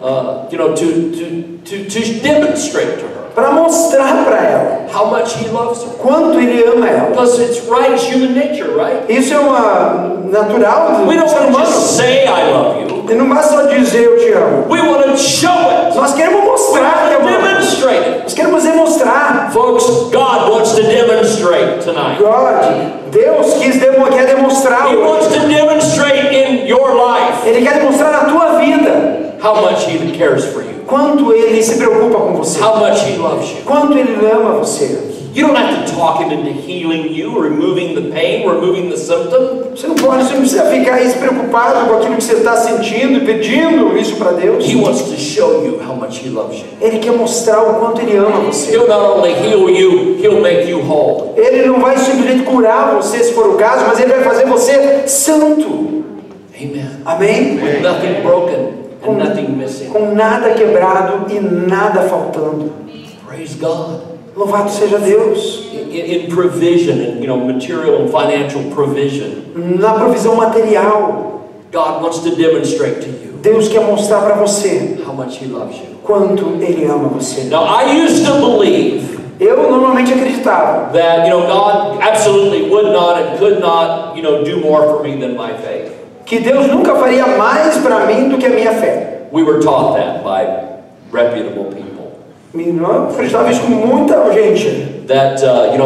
To demonstrate to her Para mostrar para ela how much he loves her. quanto ele ama ela. Because it's right, it's human nature, right? Isso é uma natural We do don't ser want to humano. just say I love you. E não basta só dizer eu te amo. We want to show it. Nós queremos We mostrar que want to amamos. demonstrate it. Nós queremos demonstrar. Folks, God wants to demonstrate tonight. Deus quer demonstrar. He wants to demonstrate in your life Ele quer demonstrar na tua vida how much He cares for you, quanto ele se preocupa com você. how much He loves you. Quanto ele ama você. You don't have to talk Him into healing you, removing the pain, removing the symptom. Você não precisa ficar aí se preocupado com aquilo que você está sentindo e pedindo isso para Deus. He wants to show you how much He loves you. Ele quer mostrar o quanto ele ama você. He'll not only heal you, He'll make you whole. Ele não vai simplesmente curar você se for o caso, mas ele vai fazer você santo. Amen. Amém? With nothing broken and nothing missing. Com nada quebrado e nada faltando. Praise God. Louvado seja Deus. In provision, and material and financial provision, Na provisão material, God wants to demonstrate to you Deus quer mostrar para você how much He loves you. quanto ele ama você. Now, I used to believe Eu normalmente realmente acreditava that, God absolutely would not and could not, do more for me than my faith. que Deus nunca faria mais para mim do que a minha fé. We were taught that by reputable people. E eu acreditava isso com muita gente. That,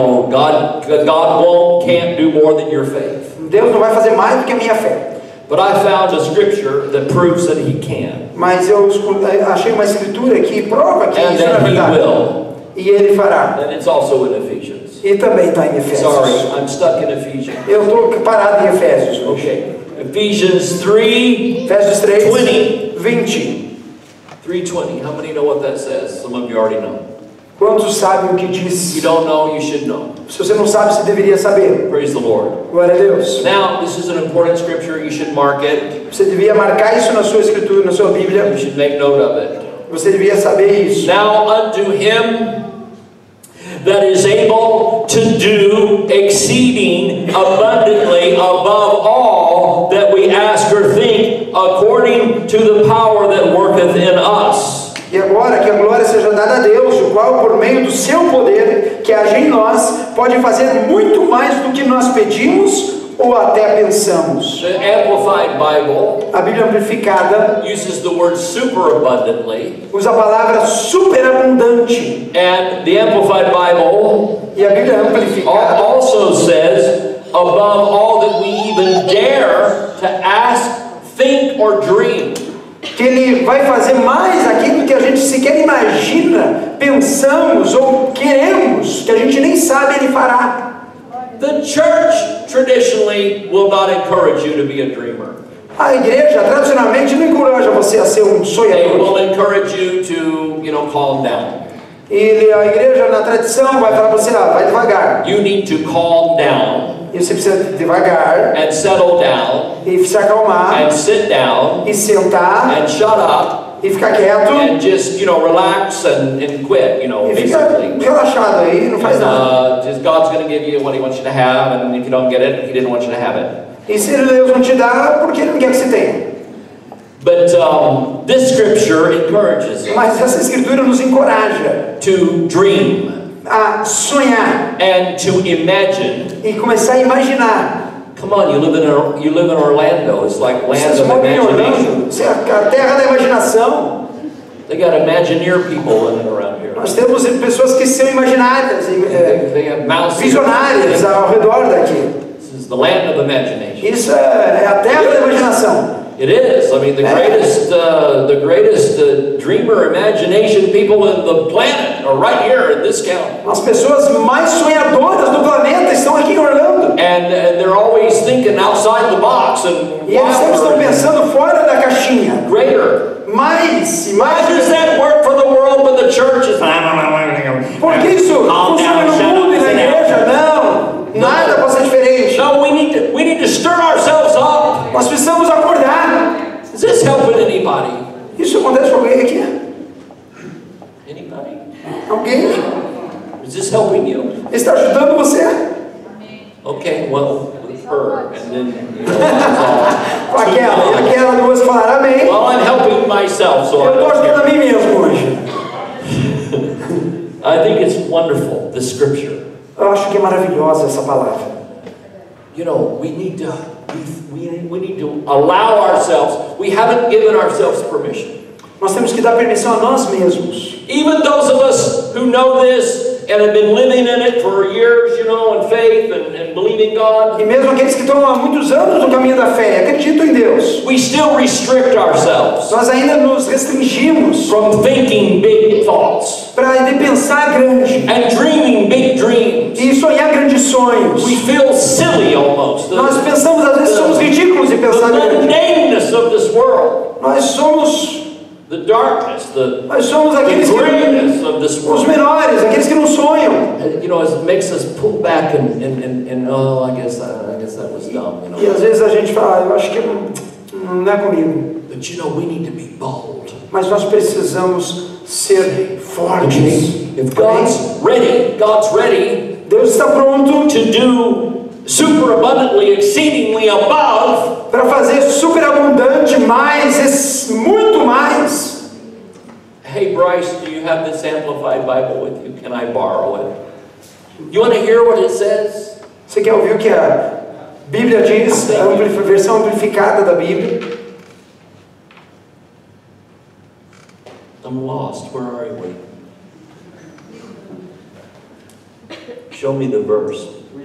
God can't do more than your faith. Deus não vai fazer mais do que a minha fé. But I found a scripture that proves that He can. Mas eu achei uma escritura que prova que And isso é that He verdade. will. E Ele fará. And it's also in Ephesians. E também está em Efésios. Sorry, I'm stuck in Ephesians. Eu estou parado em Efésios. Okay. Ephesians 3, Efésios 3, 20. 20. 3:20. How many know what that says? Some of you already know. Quantos sabem o que If diz? you don't know, you should know. Se você não sabe, você deveria saber. Praise the Lord. Glória a Deus. Now, this is an important scripture. You should mark it. Você devia marcar isso na sua escritura, na sua Bíblia. You should make note of it. Você devia saber isso. Now unto Him that is able to do exceeding abundantly above all that we ask or think, according to the power that worketh in us. E agora que a glória seja dada a Deus, o qual por meio do seu poder que age em nós, pode fazer muito mais do que nós pedimos ou até pensamos. The Amplified Bible A Bíblia amplificada uses the word superabundantly, usa a palavra superabundante. and the Amplified Bible E a Bíblia amplificada also says, above all that we even dare to ask, think, or dream. que Ele vai fazer mais aquilo que a gente sequer imagina, pensamos ou queremos, que a gente nem sabe, Ele fará. The church traditionally will not encourage you to be a dreamer. A igreja tradicionalmente não encoraja você a ser um They sonhador. will encourage you to, calm down. E a igreja na tradição vai falar para você, vai devagar. You need to calm down E você precisa devagar and settle down e se acalmar and sit down e sentar and shut up e ficar quieto and just, relax and quit, e ficar basically. relaxado aí, não faz nada. Just God's going to give you what He wants you to have, and if you don't get it, He didn't want you to have it. E se Deus não te dá, porque Ele não quer que você tenha. But this scripture encourages us Mas essa escritura nos encoraja to dream a sonhar and to imagine. e começar a imaginar. Come on, you live in Orlando. It's like land Vocês of moram em imagination. Orlando, isso é a terra da imaginação. They got Imagineer people living around here. Nós temos pessoas que são imaginárias, They have mouse visionárias ao redor daqui. This is the land of imagination. Isso é a terra da imaginação. It is. I mean, the greatest dreamer, imagination people in the planet are right here in this county. As pessoas mais sonhadoras do planeta estão aqui em Orlando. And they're always thinking outside the box and E eles sempre estão wilder, pensando fora da caixinha. greater. Mais e How mais. does that work for the world when the church is? Por que isso Calm funciona down, no shut up, mundo e na sit down. igreja? Não. Nada pode ser diferente. No, we need to stir ourselves up. Nós precisamos acordar. Is this helping anybody? Isso acontece com alguém aqui? Anybody? Alguém? Is this helping you? Está ajudando você? Okay, well, with her, and then that's all. Com aquela duas falaram amém. Well, I'm helping myself, so Eu estou I'm ajudando a mim mesmo hoje. I think it's wonderful, the scripture. Eu acho que é maravilhosa essa palavra. We need to we need to allow ourselves. We haven't given ourselves permission. Nós temos que dar permissão a nós mesmos. Even those of us who know this and have been living in it for years, in faith and believing God, E mesmo aqueles que estão há muitos anos no caminho da fé, acreditam em Deus, we still restrict ourselves nós ainda nos restringimos from thinking big thoughts para pensar grande and dreaming big dreams. e sonhar grandes sonhos. We feel silly almost. Nós pensamos, às vezes somos ridículos em The pensar grande. mundaneness of this world, Nós somos the darkness, the aqueles que greatness of this os world. menores, aqueles que não sonham. It makes us pull back and oh, I guess that was dumb. E às vezes a gente fala, eu acho que não é comigo. But we need to be bold. Mas nós precisamos ser fortes. If God's ready, Deus está pronto to do super abundantly, exceedingly above. para fazer superabundante mais, muito mais. Hey Bryce, do you have this Amplified Bible with you? Can I borrow it? You want to hear what it says? Você quer ouvir o que a Bíblia diz, a versão amplificada da Bíblia? I'm lost. Where are we? Show me the verse.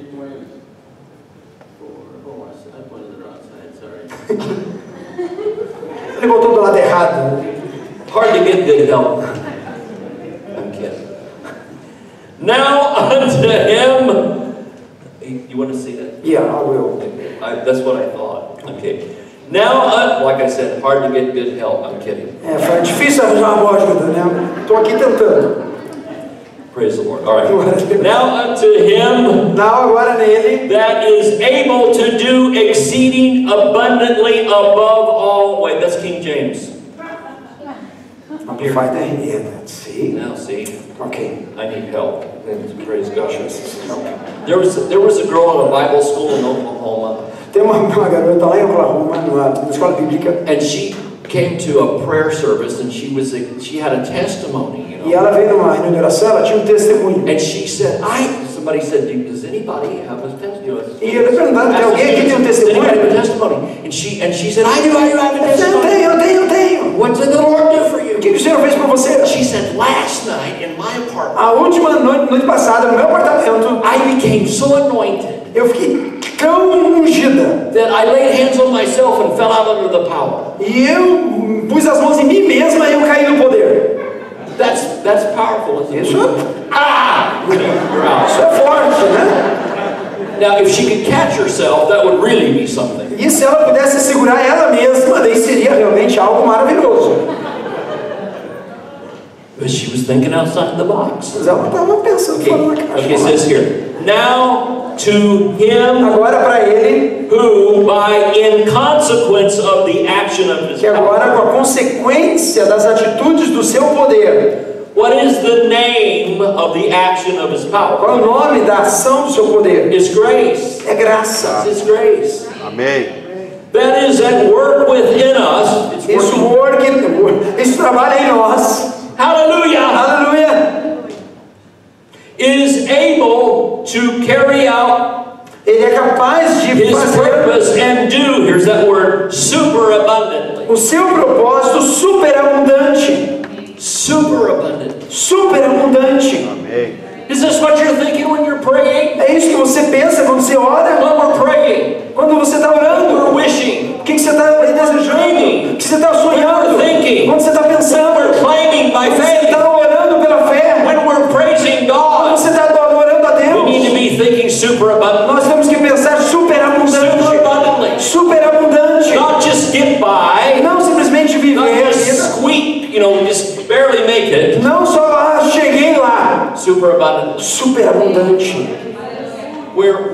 Ele voltou do lado errado. Hard to get good help. I'm kidding. Now unto him. You want to see that? Yeah, I will. That's what I thought. Okay. Now, like I said, hard to get good help. I'm kidding. Foi difícil arranjar uma boa ajuda, né? Estou aqui tentando. Praise the Lord. All right. Now unto him agora nele, that is able to do exceeding abundantly above all. Wait, that's King James. Amplify the hand. See? Now see. Okay. I need help. Praise God. There was a girl in a Bible school in Oklahoma. Tem uma garota lá em Oklahoma, numa escola bíblica. And she came to a prayer service, and she had a testimony, you know. E ela veio numa reunião de oração, ela tinha testemunho. And she said, somebody said, does anybody have a testimony? E ele perguntando, tem alguém aqui tem testemunho? Does anybody have a testimony? And she said, I do have a testimony. Eu tenho. What did the Lord do for you? O que o Senhor fez por você? She said, last night in my apartment, A última noite passada, no meu apartamento, I became so anointed eu fiquei tão ungida. that I laid hands on myself and fell out under the power. E eu pus as mãos em mim mesma e eu caí no poder. That's powerful, isn't it? Isso, You're out. isso é forte, né? Now, if she could catch herself, that would really be something. E se ela pudesse segurar ela mesma, daí seria realmente algo maravilhoso. But she was thinking outside the box. Mas ela estava pensando fora da caixa. Okay, it says here, now to him Agora para ele, who, in consequence of the action of his que agora com a consequência das atitudes do seu poder. what is the name of the action of his power? Qual é o nome da ação do seu poder? It's grace. É graça. It's his grace. Amém. That is at work within us. It's working. Isso trabalha em nós. Hallelujah. Aleluia. Is able to carry out Ele é capaz de his fazer purpose and do, here's that word, superabundantly. o seu propósito superabundante. Superabundant. Superabundante. Amém. Is this what you're thinking when you're praying? É isso que você pensa quando você ora? When we're praying, Quando você está when orando? we're wishing, O que você está desejando? O que você está sonhando? Quando você está when pensando? we're claiming by Quando você faith, está orando pela fé? when we're praising Quando God, você está orando a we need to Deus? be thinking superabundant. Nós temos que pensar superabundante. Superabundantly. Superabundante. Not just get by, Não simplesmente viver not a just vida. squeak, just barely make it. Não só cheguei lá. Superabundant. Superabundante. Where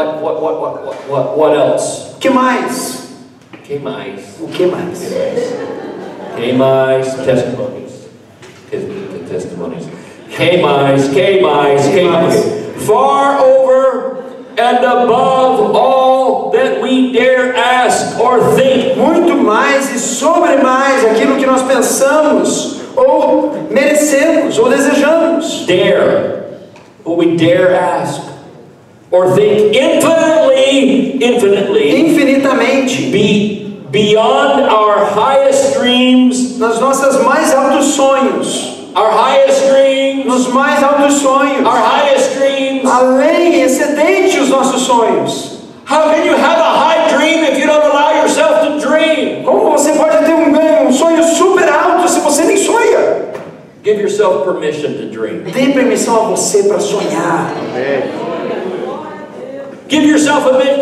what else? O que mais? Que mais? O que mais? Que mais? Testimonies. Testimonies. Que mais? Que mais? Que mais? Far over and above all that we dare ask or think. Muito mais e sobre mais aquilo que nós pensamos ou merecemos ou desejamos. Dare. What we dare ask or think infinitely. Infinitamente. Beyond our highest dreams. Nas nossas mais altos sonhos. Our highest dreams. Nos mais altos sonhos. Our highest dreams. Além, excedente os nossos sonhos. How can you have a high dream if you don't allow yourself to dream? Como você pode ter um sonho super alto se você nem sonha? Give yourself permission to dream. Dê permissão a você para sonhar. Amém. Give yourself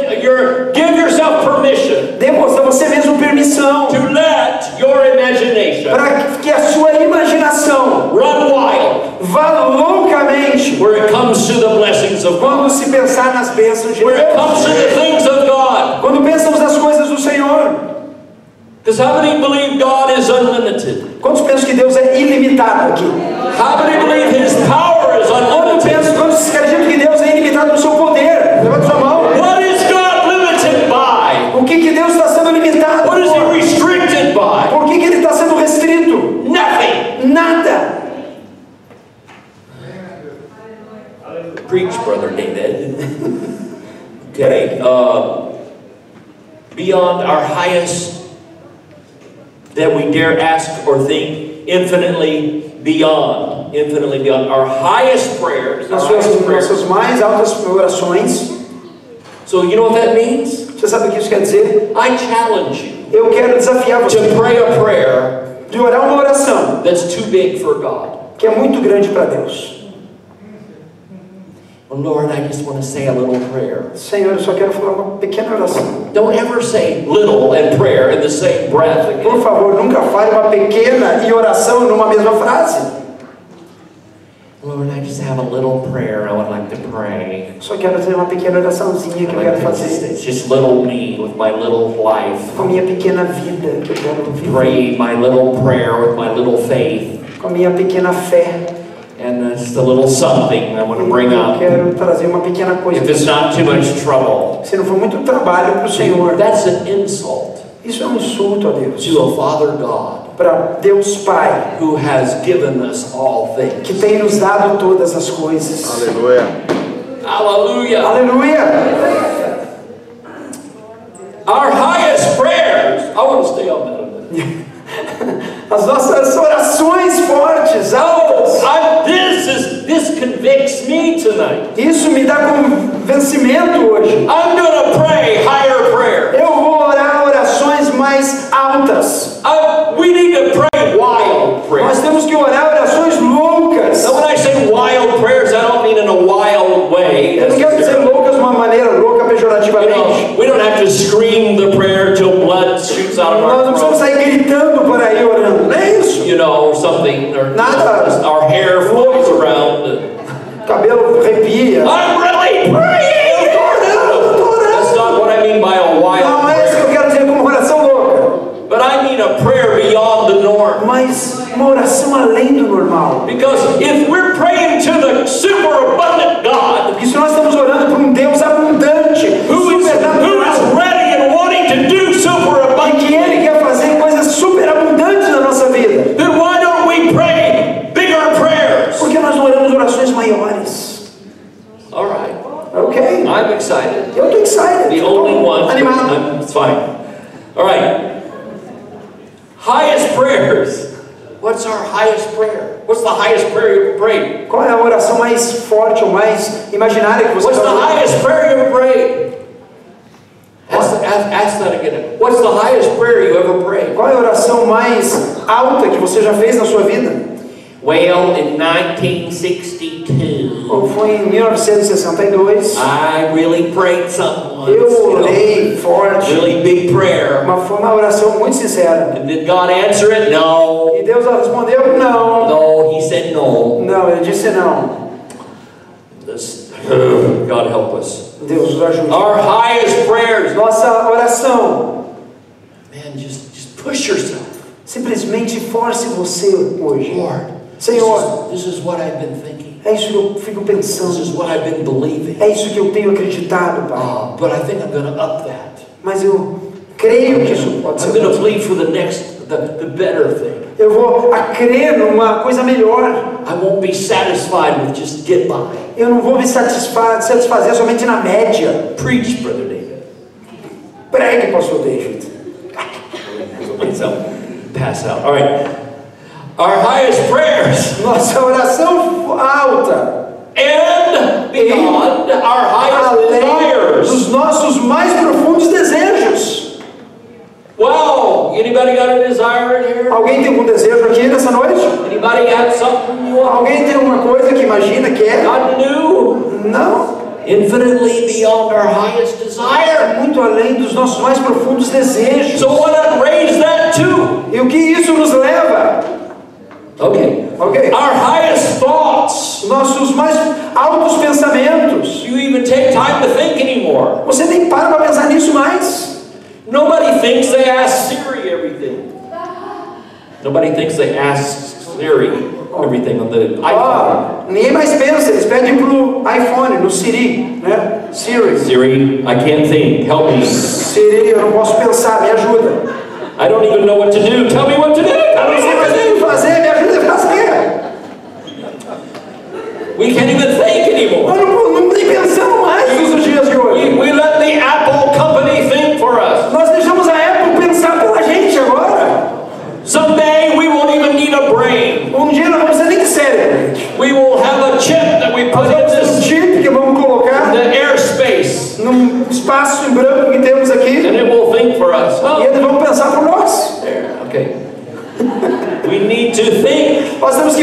permission Dê a você mesmo permissão to let your imagination para que a sua imaginação run wild vá loucamente where it comes to the blessings of quando God, se pensar nas bênçãos de where it comes to Deus. the things of God. Quando pensamos nas coisas do Senhor. Because how many believe God is unlimited? Quantos pensam que Deus é ilimitado aqui? How many believe His power is unlimited? Quantos acreditam que Deus é ilimitado no seu poder? Levanta sua mão. What is God limited by? O que Deus está sendo limitado? What is He restricted by? Por que Ele está sendo restrito? Nothing. Nada. Preach, Brother David. Okay. Beyond our highest that we dare ask or think, infinitely beyond our highest prayers. Nossas mais altas orações. So you know what that means? Você sabe o que isso quer dizer? I challenge you Eu quero desafiar você to pray a prayer de orar uma oração that's too big for God. que é muito grande para Deus. Oh Lord, I just want to say a little prayer. Senhor, eu só quero falar uma pequena oração. Don't ever say little and prayer in the same breath again. Por favor, nunca fale uma pequena e oração numa mesma frase. Lord, I just have a little prayer I would like to pray. Só quero fazer uma pequena oraçãozinha que eu quero fazer. It's just little me with my little life. Com a minha pequena vida que eu quero viver. Pray my little prayer with my little faith. Com a minha pequena fé. And just a little something I want to bring Eu up. quero trazer uma pequena coisa. If it's not too much trouble. Se não for muito trabalho para o Senhor. That's an insult. Isso é um insulto a Deus. To a Father God. Para Deus Pai. Who has given us all things. Que tem nos dado todas as coisas. Aleluia. Aleluia. Aleluia. Our highest prayers. I want to stay on that a minute. As nossas orações fortes, altas. This convicts me tonight. Isso me dá convencimento hoje. I'm going to pray higher prayer. Eu vou orar orações mais altas. We need to pray wild prayers. Nós temos que orar orações loucas. Now, when I say wild prayers, I don't mean in a wild way. Eu não quero dizer loucas de uma maneira louca pejorativamente. We don't have to scream the prayer till blood shoots out of our Nós não precisamos sair gritando por aí orando. Não é isso. You know, or something, or Nada. Our hair flows around. Cabelo arrepia. I'm really praying. Eu tô orando. That's not what I mean by a wild Não é isso que eu quero dizer como oração louca. But I mean a prayer beyond the norm. Mas uma oração além do normal. Because if we're praying to the super abundant God, porque se nós estamos orando para um Deus abundante, who is ready and wanting to do super abundant, e que Ele quer fazer coisas super abundantes na nossa vida, then why don't we pray bigger prayers? Porque nós não oramos orações maiores. All right. Okay. I'm excited. Eu estou excited. The only one. Animado. It's fine. All right. Highest prayers. What's our highest prayer? What's the highest prayer you ever prayed? Qual é a oração mais forte ou mais imaginária que você What's the highest prayer you ever prayed? Ask that again. What's the highest prayer you ever prayed? Qual é a oração mais alta que você já fez na sua vida? Well, in 1962. Ou foi em 1962? I really prayed something once. Eu orei forte. Really big prayer. Foi uma oração muito sincera. And did God answer it? No. E Deus respondeu não. No, He said no. Não, Ele disse não. God help us. Deus nos ajude. Our highest prayers. Nossa oração. Man, just push yourself. Simplesmente force você hoje. Lord, Senhor, this is what I've been thinking. É isso que eu fico pensando. This is what I've been believing. É isso que eu tenho acreditado, Pai. But I think I'm going to up that. Mas eu creio que isso pode ser. I'm going to plead for the next, the better thing. Eu vou crer numa coisa melhor. I won't be satisfied with just get by. Eu não vou me satisfazer somente na média. Preach, Brother David. Pregue, Pastor David. Pass out. All right. Our highest prayers. Nossa oração alta. And beyond our highest desires. Dos nossos mais profundos desejos. Wow! Anybody got a desire in here? Alguém tem algum desejo aqui nessa noite? Anybody got something you want? Alguém tem alguma coisa que imagina que é? God knew. Não. Infinitely beyond our highest desire. Muito além dos nossos mais profundos desejos. So why not raise that too? E o que isso nos leva? Okay. Our highest thoughts. Nossos mais altos pensamentos. You even take time to think anymore. Você nem para pensar nisso mais. Nobody thinks they ask Siri everything. Nobody thinks they ask Siri everything on the iPhone. Ninguém mais pensa, eles pedem pro iPhone, no Siri, né? Siri. Siri, I can't think. Help me. Siri, eu não posso pensar, me ajuda. I don't even know what to do. Tell me what to do. Eu não sei mais o que fazer, me ajuda a fazer. We can't even think anymore. Nós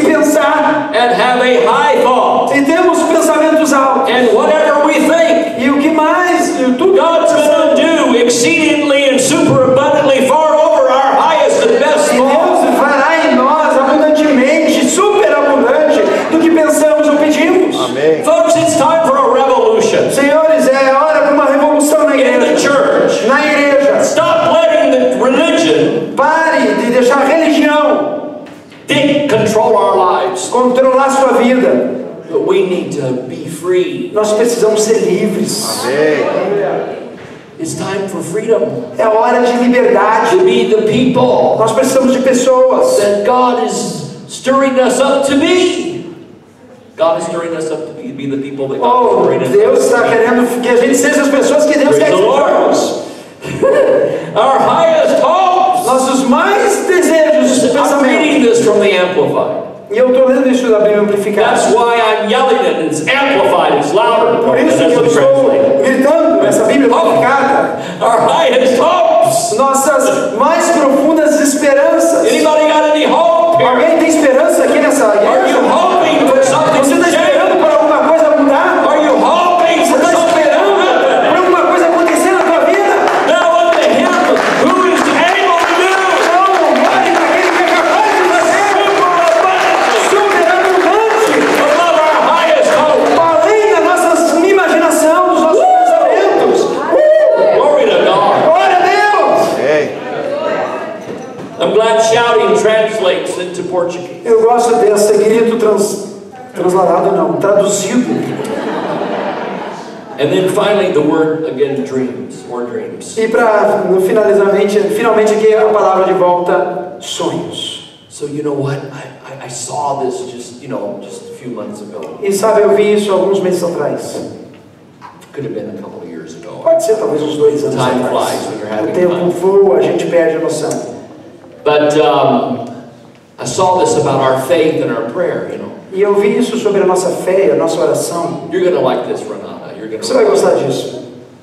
que pensar. and have a high thought. E temos pensamentos altos. And whatever we think, E o que mais? Tudo God's going to do exceedingly and super abundantly far over our highest and best E thoughts. Deus fará em nós abundantemente, superabundante do que pensamos ou pedimos. Amém. Folks, it's time for a revolution Senhores, é hora para uma revolução na in the igreja. church. Na igreja. Stop letting the religion Pare de deixar a religião control our lives. controlar sua vida. But we need to be free. Nós precisamos ser livres. Amém. It's time for freedom. É hora de liberdade. To be the people Nós precisamos de pessoas. that God is stirring us up to be. God is stirring us up to be the people that God is Oh, stirring us Deus up está to be. querendo que a gente seja as pessoas que Deus Praise quer que the Lord. sejamos. Our highest hopes. Nossos mais desejos, I'm pensamentos. reading this from the Amplified. E eu estou lendo isso da Bíblia Amplificada. That's why I'm yelling it. It's amplified. It's louder. Por It isso que eu doesn't estou translate. gritando nessa Bíblia Amplificada. Our highest hopes. Nossas mais profundas esperanças. Anybody got any hope here? Alguém tem esperança aqui nessa Are you igreja? hoping for something Você to está change? esperando por alguma coisa mudar? Are you hoping Você for está something to esperando happen? por alguma coisa acontecer na tua vida? Now unto him who is able to do Não, olhe para aquele que é capaz de fazer superabundante, above our highest hope. além da nossa imaginação, dos nossos pensamentos. Glory to God. Glória a Deus! Amém. I'm glad shouting translates into Portuguese. Eu gosto desse grito transladado, não, traduzido. And then finally the word again, dreams or dreams. E para finalmente aqui a palavra de volta, sonhos. So you know what? I saw this just a few months ago. E sabe, eu vi isso alguns meses atrás. Could have been a couple of years ago. Pode ser talvez uns 2 anos Time atrás. flies when you're O having tempo fun. voa, a gente perde a noção. But I saw this about our faith and our prayer, you know. E eu vi isso sobre a nossa fé, a nossa oração. You're going to like this, Renata. You're going Você vai gostar disso.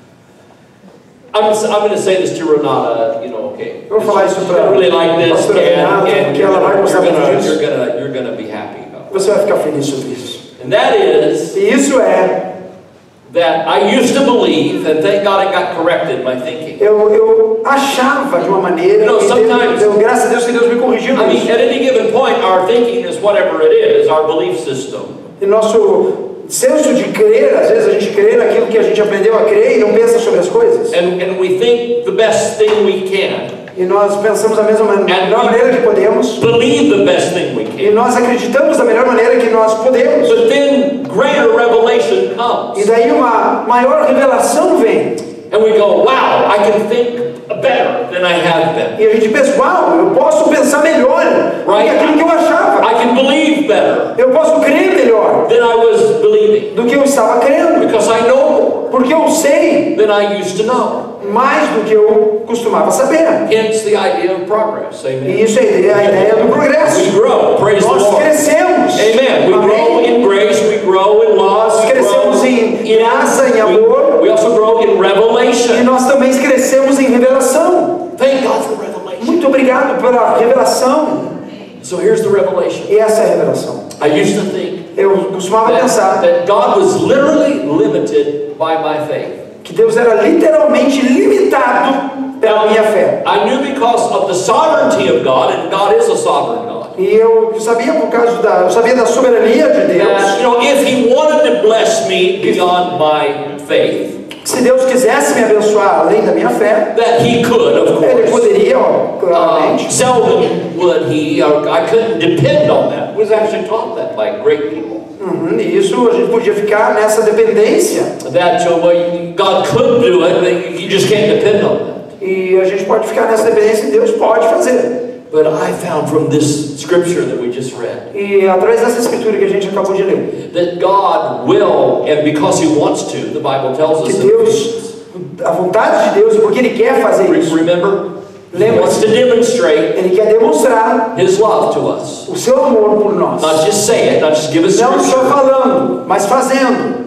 I'm going to say this to Renata, okay. Eu vou falar isso She's para gonna really like this, pastora Renata, and porque ela vai gostar muito disso. you're gonna be happy about it. Você vai ficar feliz sobre isso. And that is E isso é, that I used to believe, and thank God it got corrected, my thinking. eu achava de uma maneira, No, e sometimes- graças a Deus que Deus me corrigiu I mean, nisso. at any given point, our thinking is whatever it is, our belief system. E nosso senso de crer, às vezes a gente crê naquilo que a gente aprendeu a crer e não pensa sobre as coisas. And we think the best thing we can. E nós pensamos da melhor maneira que podemos. Believe the best thing we E can. nós acreditamos da melhor maneira que nós podemos. But then greater revelation E comes. daí uma maior revelação vem. And we go, wow, I can think better than I have been. E a gente pensa, uau, eu posso pensar melhor do que Right? aquilo que eu achava. I can believe better Eu posso crer melhor than I was believing. do que eu estava crendo. Because I know more Porque eu sei than I used to know. mais do que eu costumava saber. Hence the idea of progress. Amen. E isso é a ideia do We progresso. grow. Praise the Nós Lord. crescemos. Amen. We grow Amém. in grace. We grow in love. Nós We grow crescemos em graça, em amor. we also grow in E revelation. nós também crescemos em revelação. Thank God for revelation. Muito obrigado pela revelação. So here's the revelation. E essa é a revelação. I used to think Eu costumava pensar that God was literally limited by my faith. que Deus era literalmente limitado pela minha fé. I knew because of the sovereignty of God, and God is a sovereign God. E eu sabia eu sabia da soberania de That, Deus. if He wanted to bless me beyond my faith, Se Deus quisesse me abençoar além da minha fé, that He could, of Ele course. poderia, claramente. Seldom would He, or I couldn't depend on that. I was actually taught that by great people. E isso a gente podia ficar nessa dependência. That God could do it, but you just can't depend on that. E a gente pode ficar nessa dependência e Deus pode fazer. But I found from this scripture that we just read E através dessa escritura que a gente acabou de ler, that God will, and because He wants to, the Bible tells que us. Deus, a vontade de Deus, porque Ele quer fazer isso, Remember, He wants to demonstrate Ele quer demonstrar His love to us. o seu amor por nós. Not just say it, not just give us Não só scripture. falando, mas fazendo.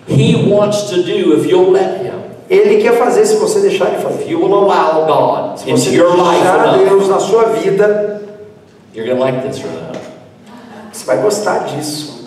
He wants to do if you'll let Him. Ele quer fazer se você deixar Ele If fazer. you will allow God Se você into your life deixar enough, Deus na sua vida, you're going to like this, Renata. Você vai gostar disso.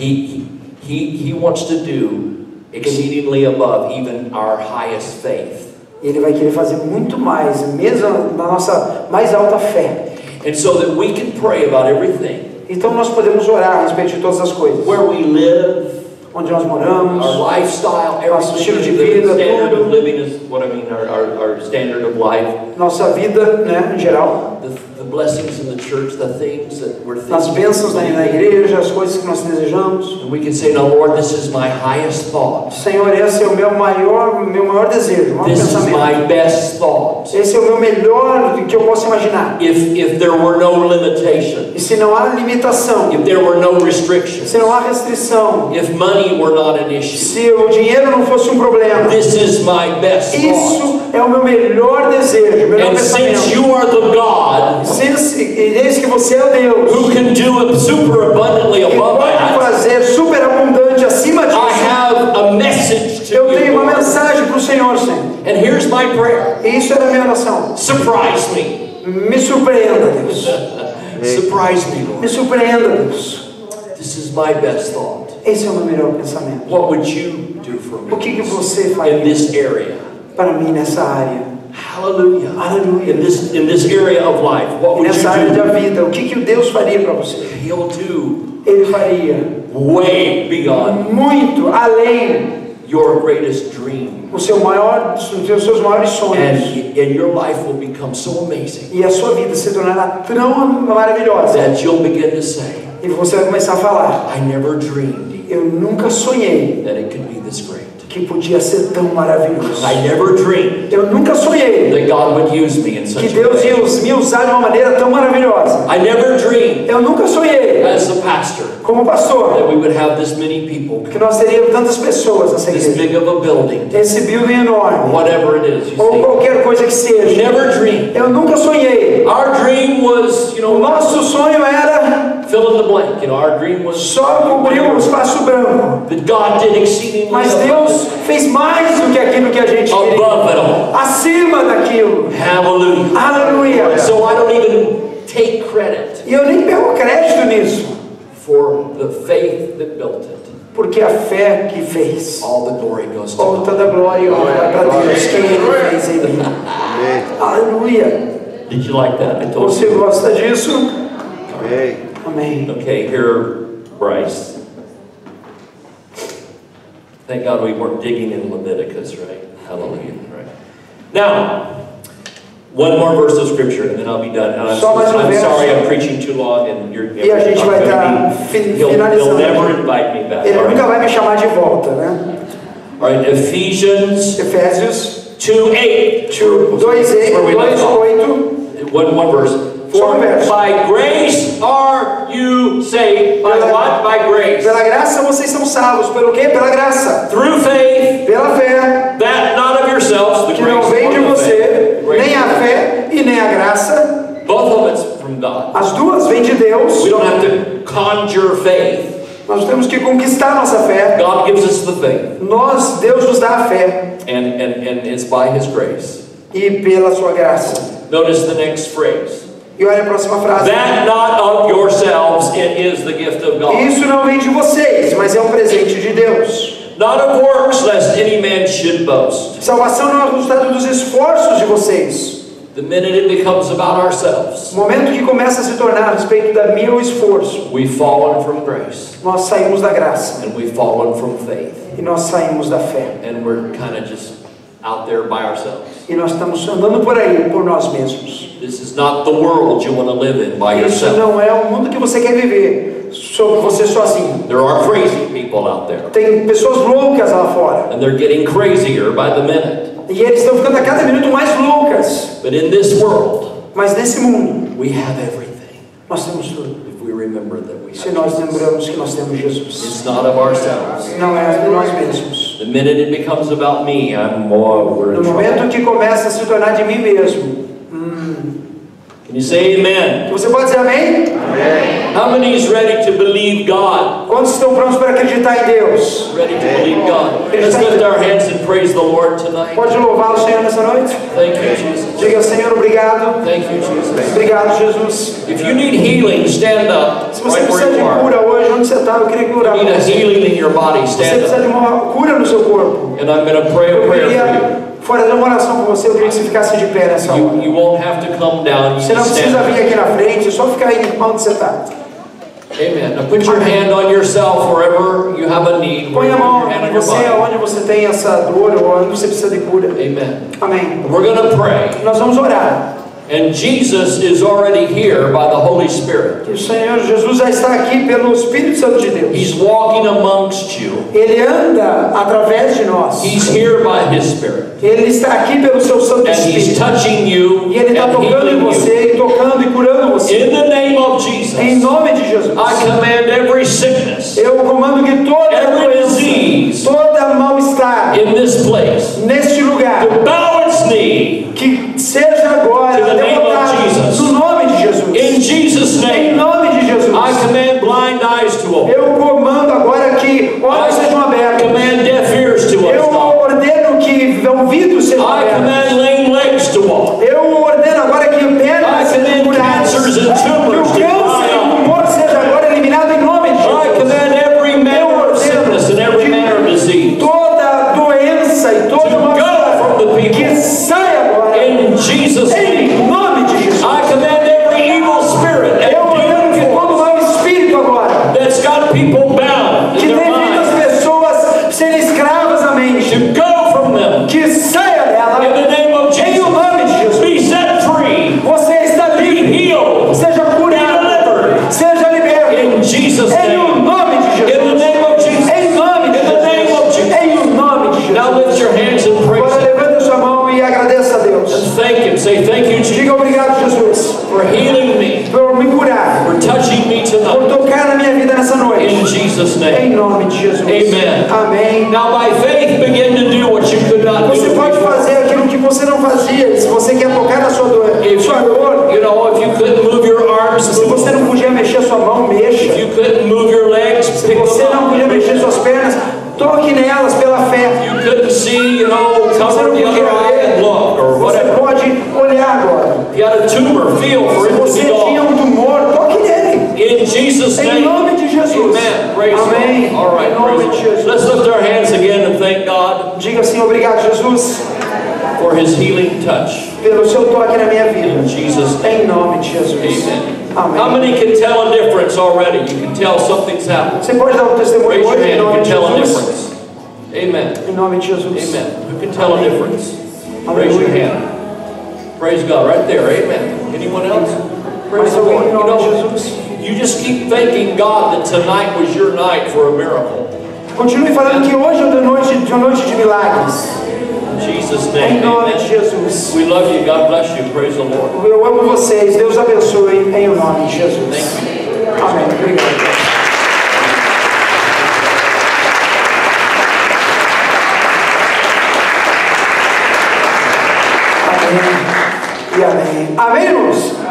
He wants to do exceedingly above even our highest faith. E Ele vai querer fazer muito mais, mesmo na nossa mais alta fé. And so that we can pray about everything. Então nós podemos orar a respeito de todas as coisas. Where we live, onde nós moramos, our lifestyle, nosso estilo de everything. vida, The standard tudo. of living is what I mean, our standard of life. Nossa vida, né, em geral. The blessings in the church, the things that we're thinking. As bênçãos na igreja, as coisas que nós desejamos. And we can say, "No, Lord, this is my highest thought. Senhor, esse é o meu maior desejo, o maior This is pensamento. my best thought." Esse é o meu melhor que eu posso imaginar. If there were no limitation, E se não há limitação, if there were no restrictions, se não há restrição, if money were not an issue, se o dinheiro não fosse um problema, this is my best thought. isso é o meu melhor desejo, melhor And since pensamento. you are the God E desde que você é o Deus who can do it super abundantly que above pode that, fazer superabundante acima I disso, have a message to eu tenho you. uma mensagem para o Senhor, Senhor. And here's my prayer. E isso era a minha oração. Surprise me. Me surpreenda, Deus. Surprise me, Me Lord. surpreenda, Deus. This is my best thought. Esse é o meu melhor pensamento. What would you do for O que me você in faria this area? para mim nessa área? Hallelujah. Aleluia. In this area of life, what E would nessa área you da do? vida, o que Deus faria para você? He'll do Ele faria way beyond muito além your greatest dream. dos seus maiores sonhos. And your life will become so amazing E a sua vida se tornará tão maravilhosa. that you'll begin to say, E você vai começar a falar: I never dreamed eu nunca sonhei that it could be this great. que podia ser tão maravilhoso. I never dreamed Eu nunca sonhei that God would use me in que such a Deus ia way. me usar de uma maneira tão maravilhosa. I never dreamed Eu nunca sonhei, as a pastor como pastor, that we would have this many people, que nós teríamos tantas pessoas nessa this igreja. big of a building, Esse building enorme, whatever it is, ou you qualquer coisa que see. seja. Never dreamed. Eu nunca sonhei. Our dream was, O nosso sonho era fill in the blank. Our dream was só cobrir um espaço branco. that God did exceedingly Mas Deus fez mais do que aquilo que a gente queria. above it all. Acima daquilo. Hallelujah. Aleluia. So I don't even take credit E eu nem pego crédito nisso, for the faith that built it. porque a fé que fez. All the glory goes to Oh, God. toda glória e honra para Deus que Ele fez em mim. Amém. Aleluia. Did you like that? I told Você you. gosta disso? Amém. Amém. Okay, here, Bryce. Thank God we weren't digging in Leviticus, right? Hallelujah, right? Now, one more verse of scripture and then I'll be done. And I'm Só mais sorry verso. I'm preaching too long and you're E a gente vai estar He'll finalizando. never invite me back. Ele All nunca right. vai me chamar de volta, né? All right, Ephesians Efésios 2:8. 2:8. One verse. Só um verso. By grace are you saved. By what? By grace. Pela graça vocês são salvos. Pelo quê? Pela graça. Through faith, Pela fé. that not of yourselves, the Que grace não vem de or the você, faith. Grace. nem a fé e nem a graça. Both of it's from God. As duas vêm de Deus. We don't have to conjure faith. Nós temos que conquistar nossa fé. God gives us the faith. Deus nos dá a fé. And it's by His grace. E pela sua graça. Notice the next phrase. E olha a próxima frase. That not of yourselves, it is the gift of God. Isso não vem de vocês, mas é um presente de Deus. Not of works, lest any man should boast. Salvação não é o resultado dos esforços de vocês. The minute it becomes about ourselves, O momento que começa a se tornar a respeito da meu esforço, we've fallen from grace. nós saímos da graça. And we've fallen from faith. E nós saímos da fé. And we're kind of just out there by ourselves. E nós estamos andando por aí, por nós mesmos. This is not the world you want to live in by Isso yourself. não é o mundo que você quer viver, sobre você sozinho. There are crazy people out there. Tem pessoas loucas lá fora. And they're getting crazier by the minute. E eles estão ficando a cada minuto mais loucas. But in this world, Mas nesse mundo, we have everything. nós temos tudo. If we remember that we Se have nós Jesus. lembramos que nós temos Jesus. It's not of ourselves. Não é de nós mesmos. The minute it becomes about me, we're No in trouble. momento que começa a se tornar de mim mesmo, Can you say amen? Você pode dizer amém? How many is ready to believe God? Quantos estão prontos para acreditar em Deus? Ready to believe God? Let's lift our hands and praise the Lord tonight. Pode louvar o Senhor nessa noite? Thank you, Jesus. Diga, Senhor, obrigado. Thank you, Jesus. Obrigado, Jesus. If you need healing, stand up Se você right precisa where de you are. cura hoje, onde você está, eu queria que orar You por need a você. healing in your body, Você stand precisa de up. uma cura no seu corpo. And I'm going to pray a Eu prayer for queria fazer uma oração por você, eu queria que você ficasse de pé nessa hora. you. You won't have to come down. You Você não can precisa stand vir up. aqui na frente, é só ficar aí onde você está. Amen. Now put your hand on yourself wherever you have a need. Põe a Put mão your hand em on your você, body. onde você tem essa dor ou onde você precisa de cura. Amen. Amém. We're going to pray. Nós vamos orar. And Jesus is already here by the Holy Spirit. Que o Senhor Jesus já está aqui pelo Espírito Santo de Deus. He's walking amongst you. Ele anda através de nós. He's here by His Spirit. Ele está aqui pelo seu Santo And He's Espírito. touching you E Ele está and tocando em healing you. você, e tocando e curando você. In the name of Jesus, Em nome de Jesus. I command every sickness Eu comando que toda Every doença, disease toda mal-estar in this place neste lugar, to bow its knee que seja agora To the name of derrotado Jesus. no nome de Jesus. in Jesus' Em name. nome de Jesus. I command blind eyes to open. Eu comando agora que olhos sejam I abertos. command deaf ears to Eu unstop. ordeno que ouvidos sejam I abertos. command lame legs to walk. Eu ordeno agora que I pernas sejam command curadas. cancers and Que o tumors to câncer e dry o up. tumor seja agora eliminado em nome de I Jesus. command every manner of sickness and every manner of disease Toda doença e toda to go from the que people saia agora in Jesus' name. em nome de Jesus. I command every evil spirit Eu and ordeno que demon todo mau espírito agora that's got people bound que in tem their feito as mind pessoas serem escravas da mente, to go from them que saia dela in the name of em o Jesus. nome de Jesus. Be set free, Você está be livre, healed seja curado, seja liberto in Jesus' em o name. nome de In the Jesus. name of Jesus. Em nome de In the name of Jesus. Jesus. Em o nome de Now Jesus. lift your hands and praise Agora Him. levanta sua mão e agradeça a Deus. And thank Him. Say thank you, Jesus, Diga obrigado, Jesus, for healing me, por me curar, for touching me por tonight. tocar na minha vida nessa In noite. Jesus' Em name. nome de Jesus. Amen. Amém. Now by faith begin to do what you could not Você do pode before. fazer aquilo que você não fazia. Se você quer tocar na sua dor, If sua dor, you know, if you couldn't move your arms, se move você them. não podia mexer sua mão, mexa. If you couldn't move your legs, Se pick você them não podia up. mexer suas pernas, toque nelas pela fé. You couldn't see, you know, Se você cover não the podia other eye and ver, look or você whatever. pode olhar agora. If you had a tumor, feel for Se it to você be tinha gone. tumor, toque nele. In Jesus' Em name. nome de Jesus. Amen. Praise Amém. God. All right, Em nome de praise God. Jesus. Let's lift our hands again and thank God Diga assim, obrigado, Jesus, for His healing touch. pelo seu toque na minha vida. In Jesus' name. Em nome de Jesus. Amen. How Amém. many can tell a difference already? You can tell something's happened. Você pode dar um testemunho Raise your hoje em hand. You nome can de tell a Jesus. difference. Amen. Em nome de Jesus. Amen. Who can tell a difference? Raise your hand. Praise God. Right there. Amen. Anyone else? Praise Mais the alguém Lord. em You nome de know, Jesus. you just keep thanking God that tonight was your night for a miracle. Continue falando que hoje é uma noite de milagres. In Jesus' Em name. nome de Amen. Jesus. We love you. God bless you. Praise the Lord. Eu amo vocês. Deus abençoe em o nome de Jesus. Amém. Obrigado. Amém. E amém. Amém, irmãos?